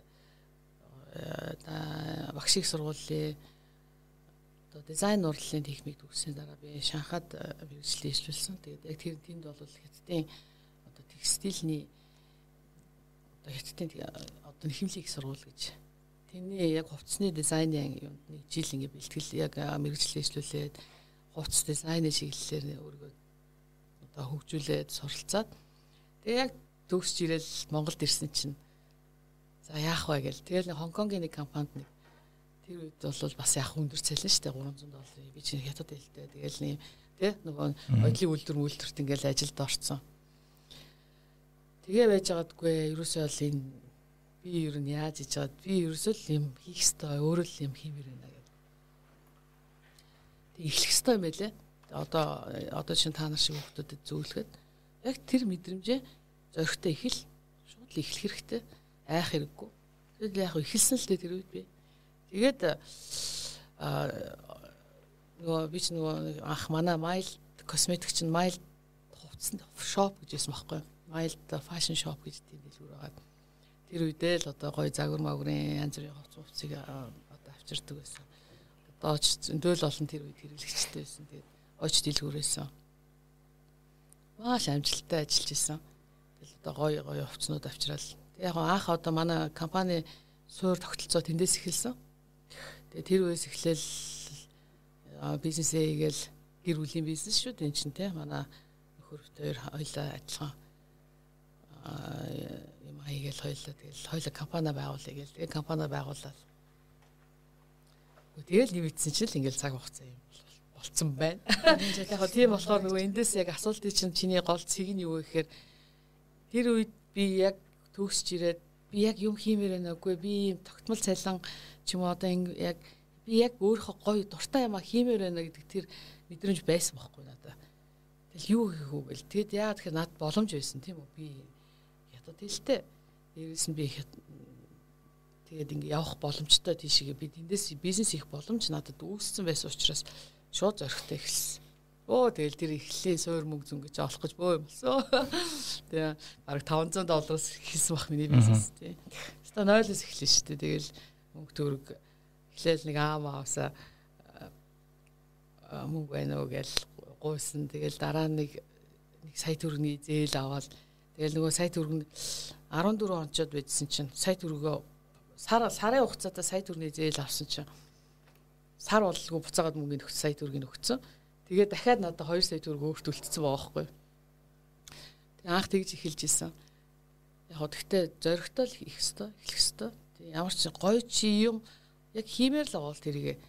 багш их сургуулийн одоо дизайн урлалын техник төгссөн дараа би Шанхайд мэрэгчлээ ишлүүлсэн. Тэгээд яг тэр тэнд бол хятадын одоо текстильний одоо хятадын одоо хэмлэг их сургууль гэж тэний яг хувцсны дизайны юмд нэг жил ингэ бэлтгэл яг мэрэгчлээ ишлүүлээд хувцс дизайны чиглэлээр өөрийгөө одоо хөгжүүлээд суралцаад тэгээ яг төгсж ирэл Монголд ирсэн чинь за яах вэ гээл тэгэл Хонконгийн нэг компанид нэг тэр үед бол бас яг өндөр цалин шүү дээ гурван зуун долларын би чинь хятад хэлтэй тэгэл нэг тий нөгөө оюутлын үйлдвэр мүлдвэрт ингээл ажилд орцсон тэгээ байж байгаадгүй ерөөсөө л энэ би ер нь яаж хийж чад би ерөөсөө л юм хийх ёстой өөрөө л юм хиймээр байна гэдэг тэг эхлэх ёстой юм байлээ одоо одоо чинь та нар шиг хүмүүстэд зөвлөхөд яг тэр мэдрэмжээ зоригтой ихэл шууд л эхлэх хэрэгтэй айх хэрэггүй тэгэл яг эхэлсэн л дээ тэр үед би тэгээд аа нөгөө би ч нөгөө анх манай Mail косметик чинь Mail хувцсан шоп гэж байсан байхгүй Mail fashion shop гэж тийм дэлгүүр байгаа тэр үедээ л одоо гоё загвар магварын янз бүрийн хувц хувцыг одоо авчирдаг байсан. Одоо ч зөндөл олон тэр үед хэрэглэгчтэй байсан. Тэгээд оч дэлгүүрээсэн. Маш амжилттай ажиллаж исэн. Тэгэл одоо гоё гоё хувцнууд авчирал. Тэг яг анх одоо манай компани суур тогтолцоо тэндээс эхэлсэн. Тэгээ тэр үеэс эхлээл бизнесээ хийгээл гэр бүлийн бизнес шүү дээ чинь те манай нөхөртэй хоёлаа адилхан юм хийгээл хоёлаа тэгэл хоёлаа компани байгуулъя гээл тэгээ компани байгуулаад тэгэл нэмэгдсэн чинь л ингээл цаг хугацаа юм болцсон байна. Яг тийм болохоор нөгөө эндээс яг асуултыг чинь чиний гол цэг нь юу гэхээр тэр үед би яг төгсч ирээд би яг юм хиймээр байна үгүй би юм тогтмол цалин ч юм уу одоо яг би яг өөрөө гоё дуртай юм а хиймээр байна гэдэг тэр мэдрэмж байсан байхгүй надад. Тэгэл юу хийх үү гэл тэгэд яа тэгэхээр над боломж байсан тийм үү би ядад хэлтэй дээрээс нь би тэгээд ингэ явах боломжтой тийшээ би тэндээс бизнес хийх боломж надад үүссэн байсан учраас шууд зоригтой эхэлсэн. Оо тэгэл тэр эхлээ суур мөнгө зүн гэж олох гэж бөө юм болсон. Тэгээ бараг таван зуун доллараас эхэлсэн бах миний бизнес тий. Ста нойлоос эхэлсэн шүү дээ. Тэгэл мөнгө төгрөг эхлээл нэг аав авсаа мөнгө байна уу гэж гуйсан. Тэгэл дараа нэг нэг сая төгрөгийн зээл аваад тэгэл нөгөө сая төгрөг нь арван дөрвөн онцод байжсэн чинь сая төгрөгөө сар сарын хугацаатаа сая төгрөгийн зээл авсан чинь сар боллгүй буцаагаад мөнгөний өгсөн сая төгрөгийг өгсөн. Тэгээд дахиад надад хоёр сая төгрөг өөрт үлдсэн байгаа байхгүй. Тэг анх тэгж эхэлж исэн. Яг хөө тэгтээ зоригтой л их өстой, эхлэх өстой. Тэг ямар ч гоё чи юм яг хиймээр л байгаа л тэрийг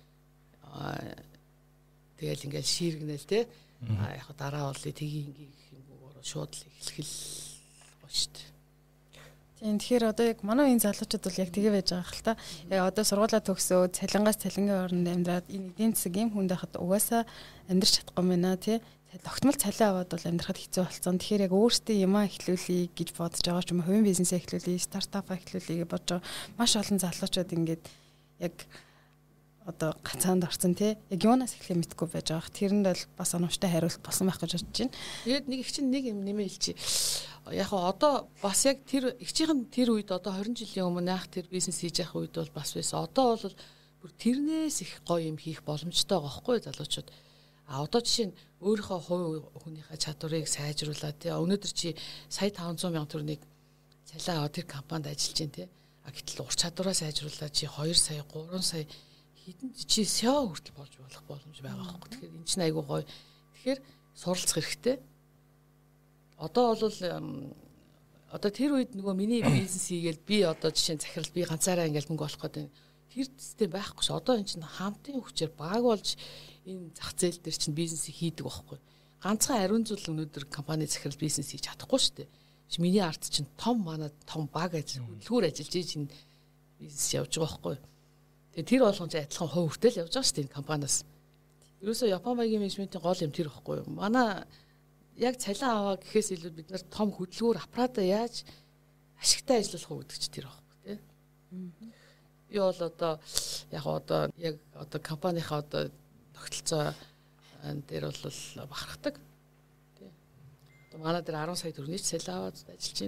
тэгэл ингээл шииргэнэл те. А яг дараа бол тгийг ингээ юмгоор шууд л эхлэх л гоё штт. Тийм тэгэхээр одоо яг манай энэ залуучууд бол яг тэгээ байж байгаа хэл та. Яг одоо сургуулаа төгсөө цалингаас цалингийн орнд амьдраад энэ эдийн засаг юм хүнд байхад угаасаа амьдрч чадахгүй мэнэ тий. Тогтмол цалин аваад бол амьдрахад хэцүү болсон. Тэгэхээр яг өөртөө юмаа эхлүүлэе гэж бодож байгаа ч юм уу хувийн бизнесээ эхлүүлэе, стартапаа эхлүүлэе гэж бодож байгаа. Маш олон залуучууд ингээд яг одоо гацаанд орсон тий. Яг юунаас эхлэхээ мэдэхгүй байж байгаа. Тэрэнд бол бас оновчтой хариулт болсон байх гэж бодож байна. Тэгээд нэг их чинь нэг юм нэмээ хэлчихье. Яг одоо бас яг тэр ихчийн тэр үед одоо двадцать жилийн өмнө ах тэр бизнес хийж явах үед бол бас байсан. Одоо бол бүр тэрнээс их гоё юм хийх боломжтой байгаа хгүй залуучууд. А одоо жишээ нь өөрийнхөө хувь хүнийхээ чадварыг сайжруулад тий өнөөдөр чи сая таван зуун мянган төгрөгийг цалин аваад тэр компанид ажиллаж байна тий. А гэтэл ур чадвараа сайжруулад чи хоёр сая гурван сая хэдэн чи эс и о хүртэл болж болох боломж байгаа байхгүй. Тэгэхээр энэ чинь айгүй гоё. Тэгэхээр суралцах хэрэгтэй. Одоо бол одоо тэр үед нөгөө миний бизнес хийгээл би одоо жишээ нь захирал би ганцаараа ингээл мөнгө олох гэдэг тэр систем байхгүй ш. Одоо энэ чинь хамтын хүчээр баг болж энэ зах зээл дээр чинь бизнесийг хийдэг байхгүй. Ганцхан ариун зүйл өнөөдөр компани захирал бизнес хийж чадахгүй шүү дээ. Миний арт чинь том манай том баг ажил хөдөлгүүр ажиллаж чинь бизнес явж байгаа байхгүй. Тэгээ тэр болгоомж адилхан хувь хүртэл явж байгаа шүү дээ энэ компаниас. Ерөөсөө Япон багийн менежментийн гол юм тэр байхгүй. Манай яг цалин аваа гэхээс илүү бид нар том хөдөлгүүр аппарата яаж ашигтай ажиллах уу гэдэг чинь тэр байхгүй тий. Би бол одоо яг одоо яг одоо компанийнхаа одоо тогтолцоо дээр бол бахархдаг тий. Одоо манай дээр арван сая төгрөгийн цалин аваад ажиллаж байна.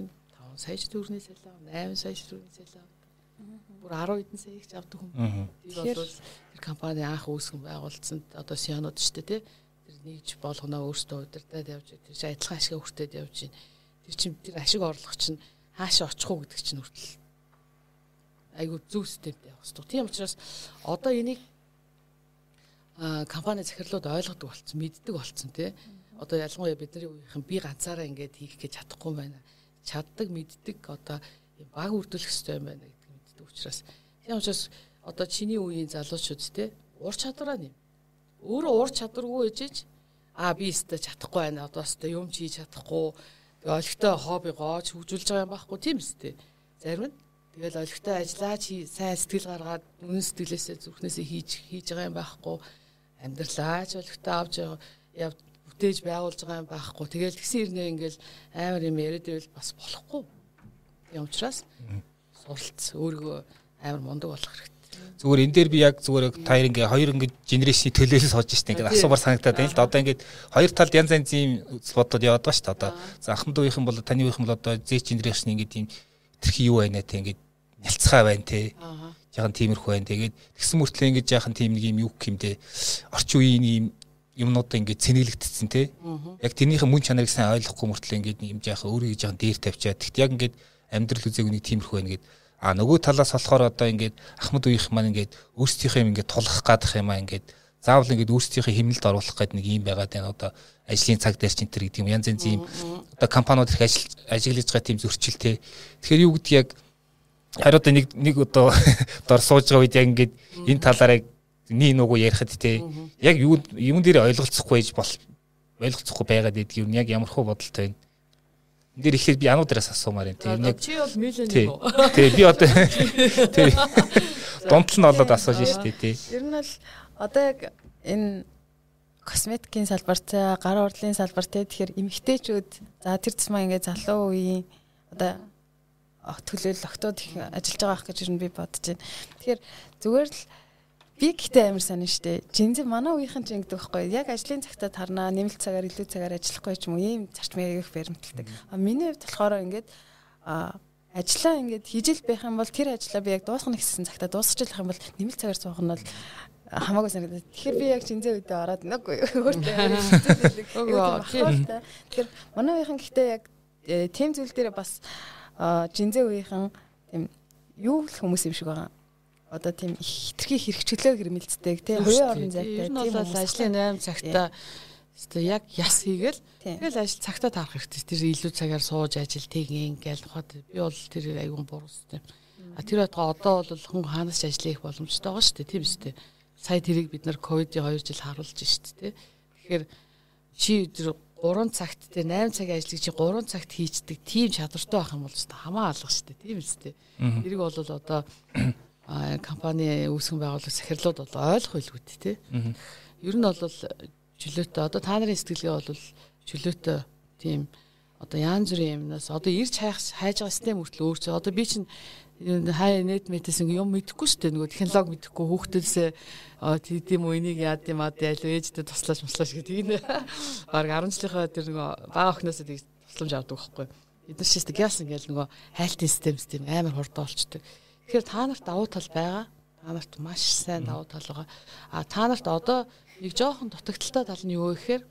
сая төгрөгийн салон, eight сая төгрөгийн салон. Бүр ten хэдэн сая их авдаг хүн. Тэр бол тэр компани анх үүсгэн байгуулсан одоо сионод ч тий. Тэр нэгж болгоно өөртөө удирдаад явж тэр чинь адилхан ашиг өртөөд явж байна. Тэр чинь тэр ашиг орлого чинь хаашаа очих уу гэдэг чинь хүртэл айгуу зөв системтэй явах хэрэгтэй. Тийм учраас одоо энийг а компани захирлууд ойлгодог болсон, мэддэг болсон тий. Одоо ялангуяа бидний үеийнхэн би ганцаараа ингэж хийх гэж чадахгүй байна. Чаддаг, мэддэг одоо баг үрдүүлэх хэрэгтэй юм байна гэдэг мэддэг учраас тийм учраас одоо чиний үеийн залуучууд тий ур чадвараа нэм. Өөрөө ур чадваргүй ээжэж а би өстө чадахгүй байна. Одоо өстө юм ч хийж чадахгүй. Тэгээ олигтой хоббигоо ч хөгжүүлж байгаа юм байхгүй тийм үстэй. Зарим нь тэгэл олигтой ажиллаа чи сайн сэтгэл гаргаад үнэн сэтгэлээсээ зүрхнээсээ хийж хийж байгаа юм байхгүй. Амьдралаач олигтой авч яв бүтээж байгуулж байгаа юм байхгүй. Тэгэл тэгсэн ирнэ ингээл амар юм яриад байвал бас болохгүй. Тийм учраас суралц өөрийгөө амар мундаг болох хэрэгтэй. Зүгээр энэ дээр би яг зүгээр таяр ингээ хоёр ингээ генерашны төлөөлөл сууж штэ ингээ асуумар санагдаад байна л да. Одоо ингээ хоёр талд янз янз юм бодод яваад байгаа штэ. Одоо за ахмад үеийнхэн бол таны үеийнхэн бол одоо Z генерашны ингээ тийм тэрхий юу байна те ингээ нялцгай байна те. Яхан тиймэрхүү байна. Тэгээд тэгсэн мөртлөө ингээ яхан тийм нэг юм юу гэмдэ орчин үеийн юм юмнуудаа ингээ цэнэглэгдсэн те. Яг тэрнийхэн мөн чанарыг сайн ойлгохгүй мөртлөө ингээ юм яхан өөрийгөө яхан дээр тавьчаад тэгт яг ингээ амьдрал үзээгүй нэг тиймэрхүү байна гэдэг. А нөгөө талаас болохоор одоо ингээд ахмад үеийнх маань ингээд өөрсдийнхөө юм ингээд тулах гадах юм аа ингээд заавал ингээд өөрсдийнхөө хэмнэлд оруулах гэдэг нэг юм байгаад байна. Одоо ажлын цаг дээр ч энэ төр гэдэг юм янз янз юм одоо компаниуд их ажил ажиглаж байгаа тийм зөрчилтэй. Тэгэхээр юу гэдэг яг хариу одоо нэг нэг одоо дор сууж байгаа үед яг ингээд энэ талаараа нэг нүгүү ярихад те яг юу юм дээр ойлголцохгүй байж бол ойлголцохгүй байгаад байдаг юм яг ямархуу бодолтой байна. Энд дэр ихээр би ануудраас асуумаар юм. Тэр нэг чи бол миллионер үү? Тий, би одоо тий. Донтол нь болоод асууж штэ тий. Ер нь бол одоо яг энэ косметикийн салбарт, гар урлын салбарт тэгэхээр эмэгтэйчүүд за тэр тусмаа ингээ залуу үеийн одоо төлөөлөл октод их ажиллаж байгаа ах гэж ер нь би бодож байна. Тэгэхээр зүгээр л би гэхдээ амар сайн штэ. Жинзээ манай үеийнхэн ч ингэдэг байхгүй. Яг ажлын цагтаа тарнаа, нэмэлт цагаар илүү цагаар ажиллахгүй ч юм уу ийм зарчмыг их баримталдаг. А миний хувьд болохоор ингээд а ажиллаа ингээд хийж л байх юм бол тэр ажлаа би яг дуусгах гэсэн цагтаа дуусгаж л байх юм бол нэмэлт цагаар суух нь бол хамаагүй санагдаад. Тэгэхээр би яг жинзээ үедээ ороод нүггүй өөртөө хэлдэг. Тэгэхээр манай үеийнхэн гэхдээ яг тийм зүйл дээр бас жинзээ үеийнхэн тийм юу л хүмүүс юм шиг байгаа. Одоо тийм хитрхи хэрэгчлөө гэрмэлцдэг тий хоёрын орон зайтай тийм бол ажлын eight цагтаа өстой яг яс хийгээл тэгэл ажил цагтаа таарах хэрэгтэй. Тэр илүү цагаар сууж ажил тэгин ингээл хот би бол тэр айгуун буруу систем. А тэр байтга одоо бол хүн хаанаас ч ажил хийх боломжтой байгаа шүү дээ тийм үстэй. Сая тэрийг бид нар ковидын two жил харуулж шүү дээ. Тэгэхээр чи тэр three цагт те eight цагийн ажлыг чи three цагт хийцдэг тийм чадвартай байх юм бол өстой хамаа алга шүү дээ тийм үстэй. Тэрийг бол одоо а компани үүсгэн байгуулах захирлууд бол ойлгох байлгүй тий. Ер нь бол чөлөөтэй одоо та нарын сэтгэлгээ бол чөлөөтэй тийм одоо янз бүрийн юмнаас одоо ирж хайх хайж байгаа систем хүртэл өөрчлөө. Одоо би чинь хай нет мэтээс юм мэдэхгүй шүү дээ. Нөгөө технологи мэдэхгүй хүүхдээсээ тийм үү энийг яад юм аа ял ээжтэй туслаач муслаач гэдэг. Бараг ten жилийнхаа тэр нөгөө бага охноосоо тийг тусламж авдаг байхгүй. Эдгээр ч гэсэн гяс ингээл нөгөө хайлтын систем систем амар хурдан болчдөг. Тэгэхээр та нарт давуу тал байгаа. Та нарт маш сайн давуу тал байгаа. А та нарт одоо нэг жоохон дутагдaltaй тал нь юу вэ гэхээр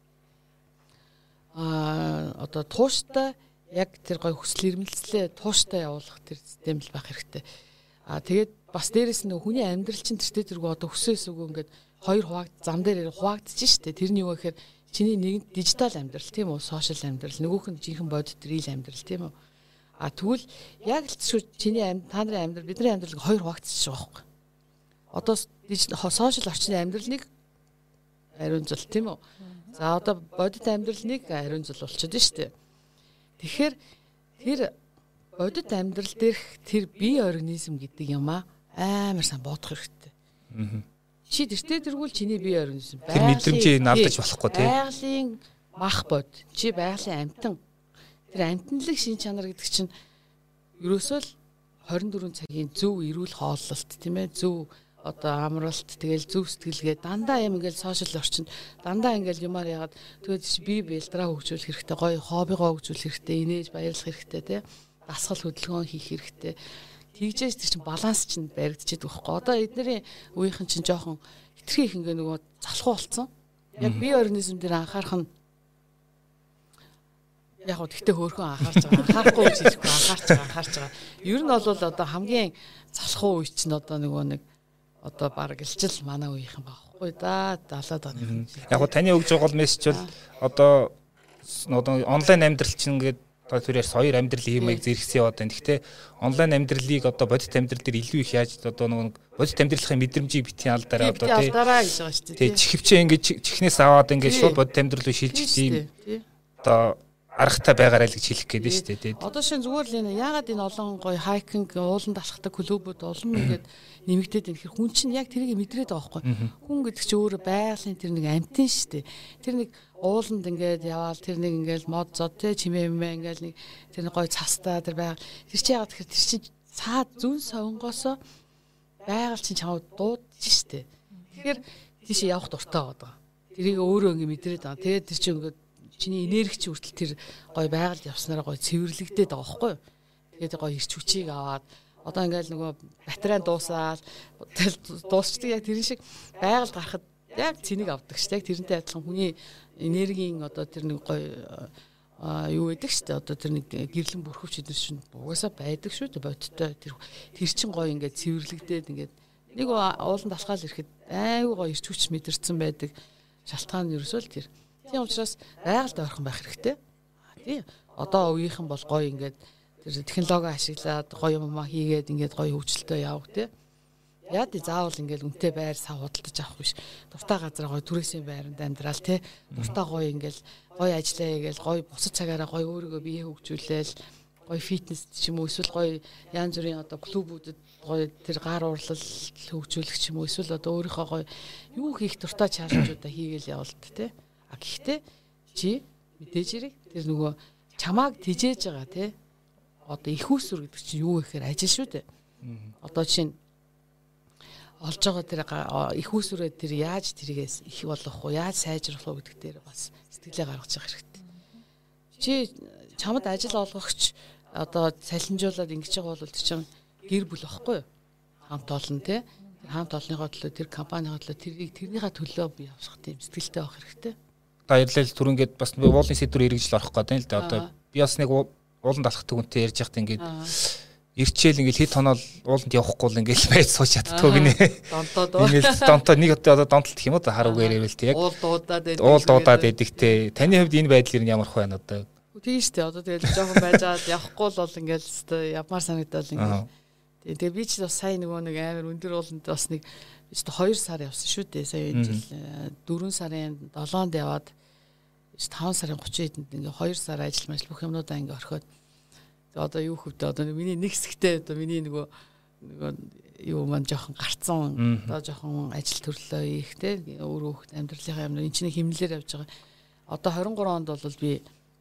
а одоо тууштай яг тэр гой хүсэл эрмэлзлээ тууштай явуулах тэр систем л байх хэрэгтэй. А тэгээд бас дээрэс нь хүний амьдрал чинь тэртээ тэргүй одоо өсөөс үгүй ингээд хоёр хуваагд зам дээр хуваагдчих штэ. Тэрний юу вэ гэхээр чиний нэг дижитал амьдрал тийм үү, сошиал амьдрал, нөгөөх нь жинхэнэ бодит реal амьдрал тийм үү. А тэгвэл яг л шүү чиний амьд та нарын амьдрал бидний амьдралыг хоёр хуваагдчих байгаа байхгүй. Одоо сошиал орчны амьдралыг ариун зул тийм үү. За одоо бодит амьдралыг ариун зул болчиход байна шүү дээ. Тэгэхээр тэр бодит амьдрал дээрх тэр бие организм гэдэг юм аа амар сан бодох хэрэгтэй. Чи тэртээ тэргүүл чиний бие организм тэр мэдрэмжийг навдаж болохгүй тийм. Байгалийн мах бод чи байгалийн амтан тэр амтналыг шин чанар гэдэг чинь ерөөсөө л twenty-four цагийн зөв эрүүл хооллолт тийм ээ зөв одоо амралт тэгэл зөв сэтгэлгээ дандаа юм ингээл сошиал орчинд дандаа ингээл юмар ягаад тэгээд би бэлтраа хөгжүүлэх хэрэгтэй гоё хоббигоо хөгжүүлэх хэрэгтэй инээж баярлах хэрэгтэй тийм дасгал хөдөлгөөн хийх хэрэгтэй. Тэгжээс тэр чинь баланс чинь баригдчихэд байхгүй. Одоо эднэрийн үеийнхэн чинь жоохон хитрхи их ингээ нөгөө залхуу болцсон. Яг бие организм дээр анхаарах нь яг гоо тэгтээ хөөрхөн анхаарч байгаа. Анхаарахгүй гэж хэлэхгүй анхаарч байгаа, анхаарч байгаа. Ер нь бол одоо хамгийн залхуу үе чинь одоо нөгөө нэг одоо баг илжил манай үеийнхэн байхгүй да. далаад оны. Яг гоо таны өгж байгаа мессеж бол одоо одоо онлайн амьдрал чинь ингээд одоо тэрээр соёр амьдрал хиймэйг зэрэгсэн яваад байна. Гэхдээ онлайн амьдралыг одоо бодит амьдрал дээр илүү их яаж одоо нөгөө бодит амьдралын мэдрэмжийг битгий алдараа одоо тий алдараа гэж байгаа шүү дээ. Тий чихвчээ ингээд чихнээс аваад ингээд шууд бодит амьдрал руу шилжих тийм одоо аргатай байгаарай л гэж хэлэх гээд байна шүү дээ. Тий. Одоо шин зүгээр л энэ ягаад энэ олон гоё хайкинг ууланд алхахдаг клубүүд олон ингээд нэмэгдээд байна. Тэгэхээр хүн чинь яг тэрийг мэдрээд байгаа байхгүй. Хүн гэдэг чинь өөрөө байгалийн тэр нэг амтэн шүү дээ. Тэр нэг ууланд ингээд яваал тэр нэг ингээд мод зод те чимээ мэмэ ингээд нэг тэр нэг гоё цастаа тэр байга тэр чи ягаад тэгэхээр тэр чи цаад зүн совингоосоо байгаль чинь чамд дуудаж шүү дээ. Тэгэхээр тийш явах дуртай байгаа. Тэрийг өөрөө ингээд мэдрээд байгаа. Тэгээд тэр чи ингээд чиний энерги чи хүртэл тэр гоё байгальд явснараа гоё цэвэрлэгдээд байгаа байхгүй юу. Тэгээд гоё ирч хүчийг аваад одоо ингээл нөгөө батарей дуусаад дуусчдаг яг тэр шиг байгальд гарахад яг цэнийг авдаг шүү дээ. Тэрнтэй адилхан хүний энергийн одоо тэр нэг гоё юу байдаг шүү дээ. Одоо тэр нэг гэрлэн бүрхөвч эдэр чинь угаасаа байдаг шүү дээ. Бодтой тэр тэр чин гоё ингээд цэвэрлэгдээд ингээд нэг ууланд алхаал ирэхэд айгүй гоё ирч хүч мэдэрсэн байдаг. Шалтгаан нь ерөөсөө л тэр. Тийм учраас байгальд ойрхон байх хэрэгтэй. Тий. Одоо үеийнхэн бол гоё ингээд тэр технологи ашиглаад гоё юм хийгээд ингээд гоё хөгжилтэй явах тий. Яа тий заавал ингээд үнэтэй байр сав худалдаж авах биш. Дуртай газар гоё түрээсийн байранд амьдрал тий. Дуртай гоё ингээд гоё ажиллаа хийгээл гоё бусад цагаараа гоё өөрийгөө бие хөгжүүлээл гоё фитнес ч юм уу эсвэл гоё янз бүрийн одоо клубүүдэд гоё тэр гар урлал хөгжүүлэх ч юм уу эсвэл одоо өөрийнхөө гоё юу хийх дуртай чаленжуудаа хийгээл явалт тий. А гэхдээ чи мэдээж хэрэг тэр нөгөө чамааг тижээж байгаа тий. Одоо их усүр гэдэг чинь юу гэхээр ажил шүү дээ. Одоо чинь олж байгаа тэр их усүрээ тэр яаж тэргээс их болгох уу, яаж сайжруулах уу гэдэг дээр бас сэтгэлээ гаргаж явах хэрэгтэй. Чи чамд ажил олгогч одоо салинжуулаад ингэж байгаа бол тэр чинь гэр бүл واخгүй юу? Хамт олон тий. Хамт олонныхоо төлөө тэр компанийн төлөө тэрийг тэрнийхээ төлөө бий явах тийм сэтгэлтэй байх хэрэгтэй. Баярлал түрүүнгээд бас уулын сэдвэр эргэж л орох гэдэг л да. Одоо би бас нэг ууланд алхахдаг үнтэй ярьж байхад ингээд ирчээл ингээд хэд тоноол ууланд явахгүй л ингээд байж сууж чаддгүй гинэ. Донтоо. Ингээд донтоо нэг одоо донтолт гэх юм уу хар үгээр ярил тий яг. Уул дуудаад байдаг. Уул дуудаад байдаг те. Таны хувьд энэ байдал ер нь ямар хөө байна одоо? Тийм шүү дээ. Одоо тэгэл жоохон байжгаад явахгүй л бол ингээд явмаар санагдал ингээд. Тэгээ би ч бас сайн нөгөө нэг амар өндөр ууланд бас нэг би ч хоёр сар явсан шүү дээ. Сая энэ жил дөрвөн сарын долоонд яваад таван сарын гучин хэдэнд ингээ хоёр сар ажил мэл бүх юмнуудаа ингээ орхиод одоо юу хөвдөө одоо миний нэг хэсэгтээ одоо миний нөгөө нөгөө юу маань жоохон гарцсан одоо жоохон ажил төрлөө их те өөрөө хөвгт амьдралынхаа юм энэ чинь хэмнэлээр явж байгаа. Одоо двадцать три онд бол би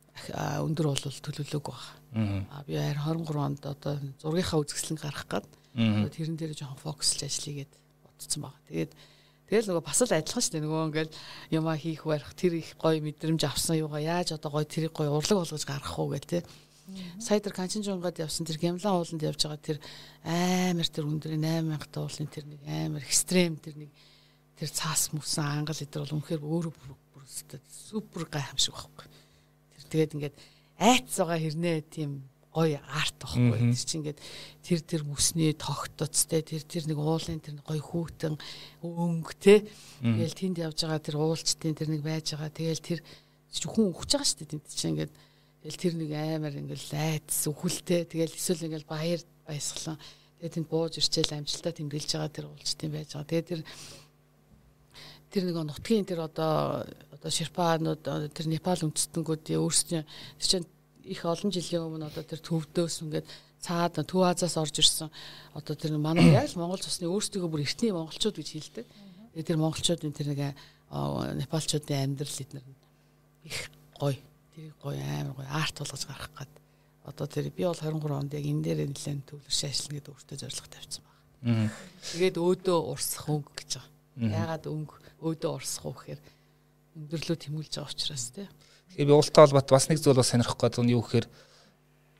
өндөр бол төлөвлөөг байгаа. А би двадцать три онд одоо зургийнхаа үзэсгэлэн гаргах гээд тэрэн дээр жоохон фокуслж ажил хийгээд бодсон байгаа. Тэгээд тэгэл нөгөө бас л адилхан шүү дээ. Нөгөө ингээл юмаа хийх барих тэр их гоё мэдрэмж авсан юугаа яаж одоо гоё тэрийг гоё урлаг болгож гаргах уу гэл те. Сая тэр Канчинжунгад явсан тэр Гямлан ууланд явж байгаа тэр амар тэр өндөр восемь мянга уулын тэр нэг амар экстрем тэр нэг тэр цаас мөсөн ангал эдэр бол үнэхээр өөрөө бүр супер гайхамшиг байхгүй. Тэр тэгээд ингээд айц байгаа хэрнээ тийм гоё арт байхгүй. Тэр чинь ингээд тэр тэр мөсний тогтоцтой тэр тэр нэг уулын тэр гоё хүүтэн өнгө те. Тэгэл тэнд явж байгаа тэр уулчдын тэр нэг байж байгаа. Тэгэл тэр хүн өгч байгаа шүү дээ тэнд чинь ингээд тэгэл тэр нэг амар ингээл айц өхөлтэй тэгэл эсвэл ингээл баяр баясгалан тэгээ тэнд бууж ирчээл амжилтаа тэмдэглэж байгаа тэр уулчдын байж байгаа. Тэгээ тэр тэр нэг нутгийн тэр одоо одоо ширпаанууд тэр Непал үндэстнгүүд өөрсдөө тэр чинь их олон жилийн өмнө одоо тэр төвдөөс ингээд цаад Төв Азиас орж ирсэн одоо тэр манай яг Монгол цусны өөрсдөө бүр эртний монголчууд гэж хэлдэг. Тэгээ тэр монголчуудын тэр нэг Непалчуудын амьдрал эднэр их гоё тэр гоё амар гоё арт болгож гаргах гээд одоо тэр би бол двадцать три онд яг энэ дээр нэлээд төвлөрч ажиллана гэдэг өөртөө зорилго тавьсан байна. Тэгээд өөдөө урсах өнгө гэж байгаа. Яагаад өнгө өөдөө урсах уу гэхээр өндөрлөө тэмүүлж байгаа учраас тий. Тэгээ би уултай холбоот бас нэг зүйл бас сонирхох гэдэг нь юу гэхээр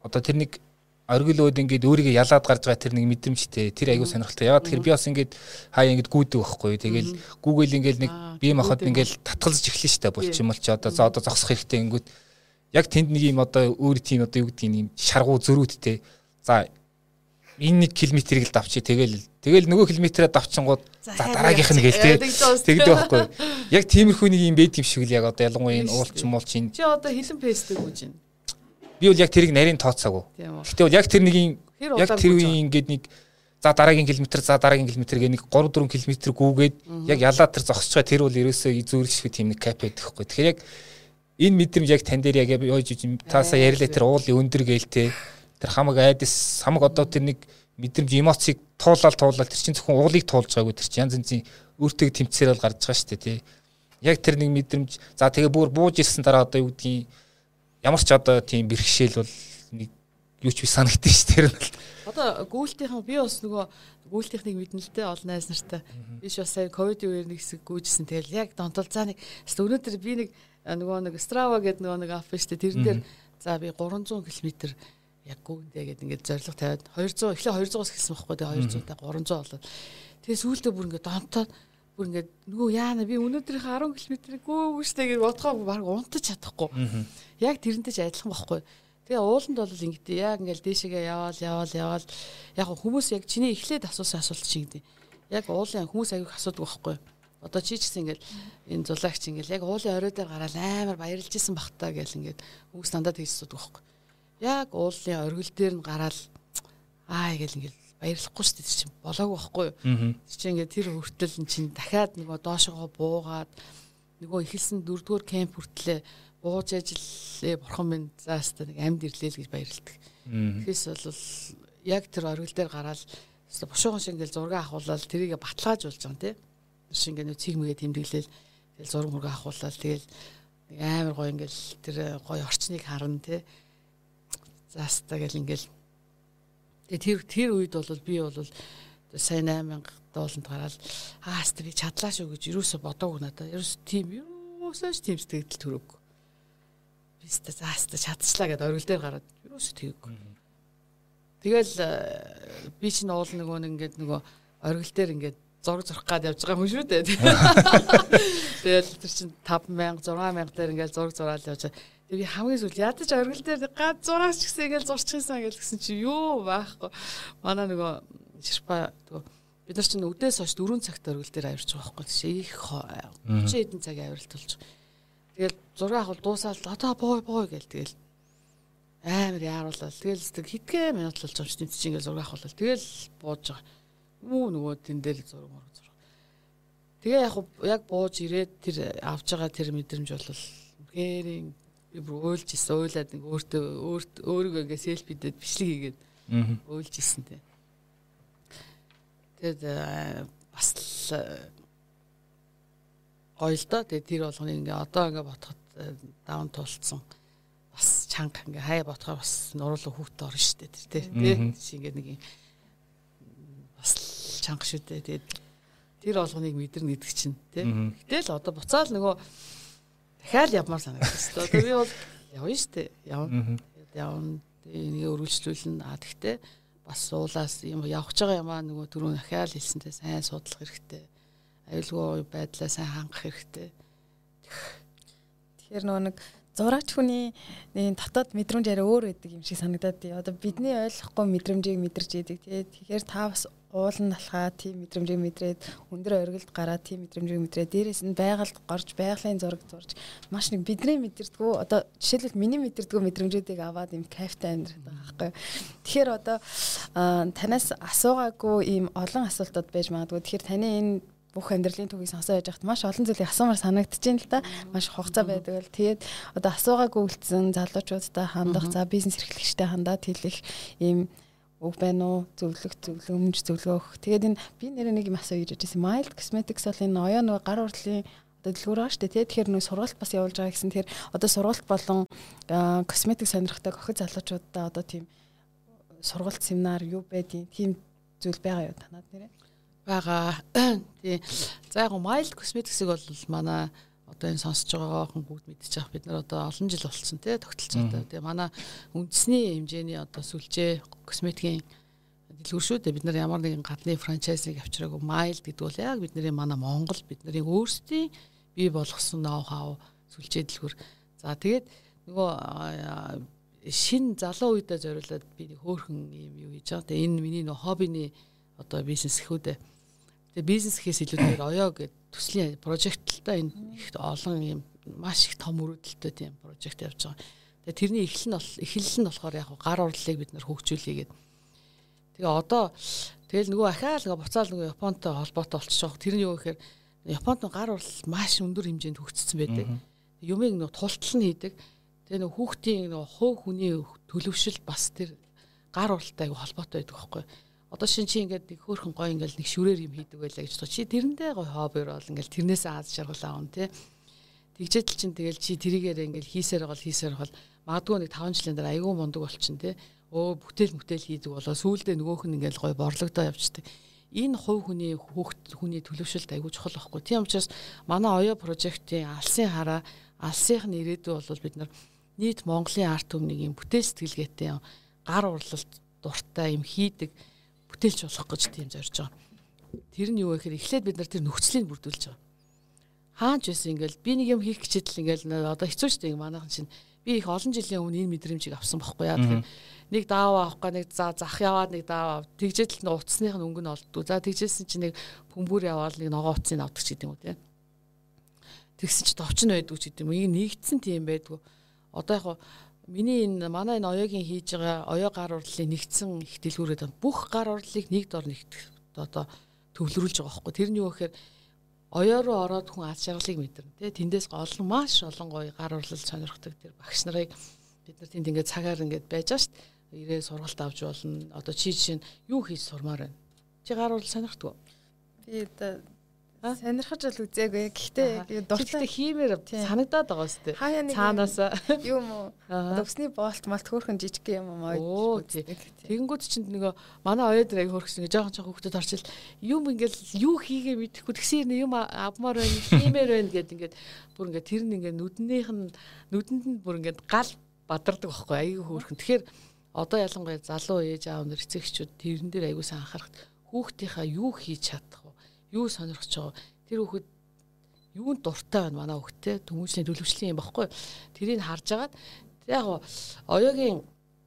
одоо тэр нэг оргил өөд ингээд өөрийгөө ялаад гарч байгаа тэр нэг мэдрэмжтэй тэр аягүй сонирхолтой. Ягаад тэгэхээр би бас ингээд хаяа ингээд гүйдэг байхгүй. Тэгэл Google ингээд нэг бие махбод ингээд татгалзаж эхлэн штэ булчим бол чи одоо за одоо зогсох хэрэгтэй ингээд яг тэнд нэг юм одоо өөр тийм одоо юу гэдгийг юм шаргуу зөрүүдтэй. За энэ нэг километрийг л давчи тэгэл тэгэл нөгөө километрээ давчингууд за дараагийнх нь гээл тэгдэг байхгүй. Яг тиймэрхүү нэг юм байд юм шиг л яг одоо ялангуяа энэ уулч муулч энэ чи одоо хилэн пэстэй гүйж байна. Би бол яг тэрийг нарийн тооцоогүй. Гэхдээ бол яг тэр нэг яг тэр үеийн ингээд нэг за дараагийн километр за дараагийн километр гээ нэг три четыре километр гүүгээд яг ялаад тэр зогсож байгаа тэр бол ерөөсөө зөөрлөшгүй тийм нэг кап байдаг хгүй. Тэгэхээр яг энэ мэдрэмж яг тань дээр яг яаж таасаа ярьлаа тэр уулын өндөр гэлтэй тэр хамаг айдас хамаг одоо тэр нэг мэдрэмж эмоцийг туулаад туулаад тэр чинь зөвхөн уулыг туулж байгаагүй тэр чинь янз янзын өөртөө тэмцээр бол гарч байгаа шүү дээ тий. Яг тэр нэг мэдрэмж за тэгээ бүр бууж ирсэн дараа одоо юу гэдгийг ямар ч одоо тийм бэрхшээл бол нэг юу ч би санагдсан ш тэр нь. Одоо гүйлтийнхэн би бас нөгөө гүйлтийнхнийг мэднэ л дээ олон найз нартай. Биш бас сая ковид үеэр нэг хэсэг гүйжсэн. Тэгэл яг донтол за нэг өнөөдөр би нэг нөгөө нэг Strava гэдэг нөгөө нэг ап шүү дээ. Тэрэн дээр за би триста километр яг гүйндээ гэдэг ингээд зорилго тавиад two hundred эхлээ two hundred-аас эхэлсэн байхгүй дээ two hundred та three hundred болоод. Тэгээ сүүлдээ бүр ингээд донтоод бүр ингээд нөгөө яана би өнөөдрийнхээ ten километрийг гүйгүй штэ гэж бодохоо баг унтаж чадахгүй. Яг тэрнтэй ч адилхан байхгүй. Тэгээ ууланд бол ингэдэ яг ингээл дээшээгээ яваал яваал яваал яг хүмүүс яг чиний эхлээд асуусан асуулт шиг дээ. Яг уулын хүмүүс аяг асуудаг байхгүй. Одоо чи ч гэсэн ингээл энэ зулагч ингээл яг уулын орой дээр гараад амар баярлж исэн бахтаа гэл ингээд хүмүүс дандаа тэгж асуудаг байхгүй. Яг уулын оргил дээр нь гараад аа гэл ингээл баярлахгүй шүү дээ чинь болоогүй байхгүй юу. Тэр чинь ингээд тэр хүртэл н чинь дахиад нөгөө доошогоо буугаад нөгөө эхэлсэн дөрөвдүгээр кемп хүртлээ бууж ажиллаа бурхан минь зааста нэг амьд ирлээ л гэж баярлдаг. Тэгэхээс бол яг тэр оргил дээр гараад бушуухан шиг ингээл зураг авахуулаад тэрийг баталгааж болж байгаа тийм. Тэр шиг ингээд цэгмэгээ тэмдэглээл тэгэл зураг мураг авахуулаад тэгэл амар гоё ингээл тэр гоё орчныг харна тийм. Зааста гэл ингээл тэр тэр үед бол би бол сайн eight мянга долларт гараад ааста би чадлаа шүү гэж юусоо бодоогүй надаа. Ерөөс тийм юусоо ч тийм сэтгэл төрөөг. Биста зааста чадчихлаа гэдээ оргил дээр гараад юусоо тэггүй. Тэгэл би чинь уул нөгөө нэг ингээд нөгөө оргил дээр ингээд зураг зурх гад явж байгаа хүн шүү дээ. Тэгэл тэр чинь five мянга six мянга дээр ингээд зураг зураал явж байгаа. Би хамгийн сүүл ядаж оргил дээр гад зураач гэсэн ингээл зурчихсан гэсэн чи юу байхгүй. Манай нөгөө ширпа бид нар чинь өдөөс хойш four цагт оргил дээр авирч байгаа байхгүй. Тийш их thirty хэдэн цаг авиралт болж. Тэгэл зураг авах дуусаад одоо боо боо гээл тэгэл амар яаруулаад тэгэл хитгэн минут болж байгаа юм чинь чи ингээл зураг авах. Тэгэл бууж байгаа. Мүү нөгөө тэн дээр зураг мөр зураг. Тэгээ яг яг бууж ирээд тэр авж байгаа тэр мэдрэмж бол гэрийн би бүр уйлж исэн уйлаад нэг өөртөө өөрт өөрийгөө ингээ селфидэд бичлэг хийгээд уйлж исэн тэ. Тэгээд бас гоё л доо. Тэгээд тэр болгоны ингээ одоо ингээ ботход даун тулцсан бас чанга ингээ хай ботхоор бас нуруулаа хүүхдээ орно штэ тэр тэ. Тэ чи ингээ нэг юм бас чанга шүү дээ. Тэгээд тэр болгоныг мэдэрнэ гэдэг чинь тэ. Гэтэл одоо буцаал нөгөө дахиад явмаар санагдсан. Одоо би бол явна штэ. Явна. Явна. Энийг өргөлжлүүлнэ. А тэгтээ бас уулаас юм явж байгаа юмаа нөгөө түрүүн дахиад хэлсэнтэй сайн судлах хэрэгтэй. Аюулгүй байдлаа сайн хангах хэрэгтэй. Тэгэхээр нөгөө нэг зураач хүний нэг дотоод мэдрэмж арай өөр байдаг юм шиг санагдаад тий. Одоо бидний ойлгохгүй мэдрэмжийг мэдэрч идэг тий. Тэгэхээр та бас уулын алхаа тийм мэдрэмжийг мэдрээд өндөр оргилд гараад тийм мэдрэмжийг мэдрээд дээрээс нь байгальд горж байгалийн зураг зурж маш нэг бидний мэдэрдгүү одоо жишээлбэл миний мэдэрдгүү мэдрэмжүүдийг аваад юм кайфтай амьдраад байгаа байхгүй. Тэгэхээр одоо танаас асуугаагүй ийм олон асуултууд байж магадгүй. Тэгэхээр таны энэ бүх амьдралын түүхийг сонсоод байж хат маш олон зүйлийг асуумаар санагдаж байна л да. Маш хугацаа байдаг л. Тэгээд одоо асуугаагүй үлдсэн залуучуудтай хандах, за бизнес эрхлэгчтэй хандаад хэлэх ийм үг байна уу? Зөвлөх, зөвлөмж, зөвлөгөөх. Тэгээд энэ би нэрээ нэг юм асуу гэж байсан. Mild Cosmetics бол энэ оюун нөгөө гар урдлын одоо дэлгүүр байгаа шүү дээ. Тэгэхээр нөгөө сургалт бас явуулж байгаа гэсэн. Тэгэхээр одоо сургалт болон косметик сонирхдаг охид залуучуудаа одоо тийм сургалт семинар юу байдیں۔ Тийм зүйл байгаа юу танад нэрээ? Бага. Тий. За яг Mild Cosmetics-ийг бол манай одоо энэ сонсож байгаа хүн бүгд мэдчих бид нар одоо олон жил болсон тий тогтолцоотой. Тэгээ манай үндэсний хэмжээний одоо сүлжээ косметикийн дэлгүүр шүү дээ. Бид нар ямар нэгэн гадны франчайзыг авчираагүй Mild гэдэг бол яг бидний манай Монгол бидний өөрсдийн бий болгосон ноу хау сүлжээ дэлгүүр. За тэгээд нөгөө шинэ залуу үедээ зориулаад би нэг хөөрхөн юм юу хийж байгаа. Тэгээ энэ миний нөгөө хоббиний одоо бизнес гэхүү дээ. Тэгээ бизнес гэхээс илүүгээр оёо гэдэг төслийн прожекттай энэ их олон юм маш их том өрөөдөлтөй тийм прожект явж байгаа. Тэгээ тэрний эхлэл нь бол эхлэл нь болохоор яг гар урлалыг бид нар хөгжүүлье гэдэг. Тэгээ одоо тэгэл нөгөө ахаал нөгөө буцаал нөгөө Японтой холбоотой болчихсон. Тэр нь юу гэхээр Японд гар урлал маш өндөр хэмжээнд хөгжсөн байдаг. Юмыг нөгөө тултал нь хийдэг. Тэгээ нөгөө хүүхдийн нөгөө хувь хүний төлөвшил бас тэр гар урлалтай холбоотой байдаг байхгүй. Одоо шин чи ингээд нэг хөөрхөн гой ингээд нэг шүрээр юм хийдэг байлаа гэж бодчих. Чи тэрэндээ гой хоббир бол ингээд тэрнээс аз жаргал аавн тий. Тэгжээдл чин тэгэл чи тэрийгээр ингээд хийсээр гол хийсээр гол магадгүй нэг таван жилийн дараа айгүй мундаг болчин тий. Өө бүтээл бүтээл хийдэг болоо сүүлдээ нөгөөх нь ингээд гой борлогдоо явчихдаг. Энэ хувь хүний хүүхд хүний төлөвшөлт айгүй чухал байхгүй. Тийм учраас манай оёо прожектын алсын хараа алсынх нь ирээдүй бол бид нар нийт Монголын арт түмнийг юм бүтээл сэтгэлгээтэй гар урлалт дуртай юм хийдэг бүтээлч болох гэж тийм зорж байгаа. Тэр нь юу гэхээр эхлээд бид нар тэр нөхцөлийг бүрдүүлж байгаа. Хаач байсан ингээл би нэг юм хийх гэчитэл ингээл одоо хэцүү шүү дээ манайхан чинь би их олон жилийн өмнө энэ мэдрэмжийг авсан байхгүй яа. Тэгэхээр нэг даав авахгүй нэг за зах яваад нэг даав тэгжээдл нь утасных нь өнгө нь олддоо. За тэгжээсэн чинь нэг бөмбөр яваад нэг ногоо утсыг авдаг ч гэдэг юм уу тийм. Тэгсэн чинь товчн байдгүй ч гэдэг юм. Ийм нэгдсэн тийм байдгүй. Одоо яг миний энэ манай энэ оёогийн хийж байгаа оёо гар урлалын нэгдсэн их дэлгүүрээд бүх гар урлалыг нэг дор нэгтгэх одоо төвлөрүүлж байгаа байхгүй. Тэр нь юу гэхээр оёо руу ороод хүн аз жаргалыг мэдэрнэ тий. Тэндээс олон маш олон гоё гар урлал сонирхдаг тэр багш нарыг бид нар тэнд ингээд цагаар ингээд байж байгаа шүү дээ. Ирээ сургалт авч болно. Одоо чи жишээ нь юу хийж сурмаар байна? Чи гар урлал сонирхдаг уу? Би одоо сонирхож л үзээгүй. Гэхдээ дуртай хиймээр санагдаад байгаа үстэй. Цаанаас юм уу? Өвсний боолт малт хөөрхөн жижиг юм аа. Тэгэнгүүт чинь нөгөө манай оёо дээр аяг хөөрхсөн. Жохон жохон хүүхдэд орчил юм ингээл юу хийгээ мэдэхгүй тэгсээр юм авмаар байна, хиймээр байна гэд ингээд бүр ингээд тэр нь ингээд нүднийх нь нүдэнд нь бүр ингээд гал бадардаг байхгүй аяг хөөрхөн. Тэгэхээр одоо ялангуяа залуу ээж аав нар эцэгчүүд тэрэн дээр аягүй сан анхаарах хүүхдийнхаа юу хийж чадах вэ? Юу сонирхож байгаа тэр хүүхэд юунд дуртай байна манай хүүхдтэй төмөжлийн төлөвшлийн юм баггүй тэрийг харж агаад яг оёогийн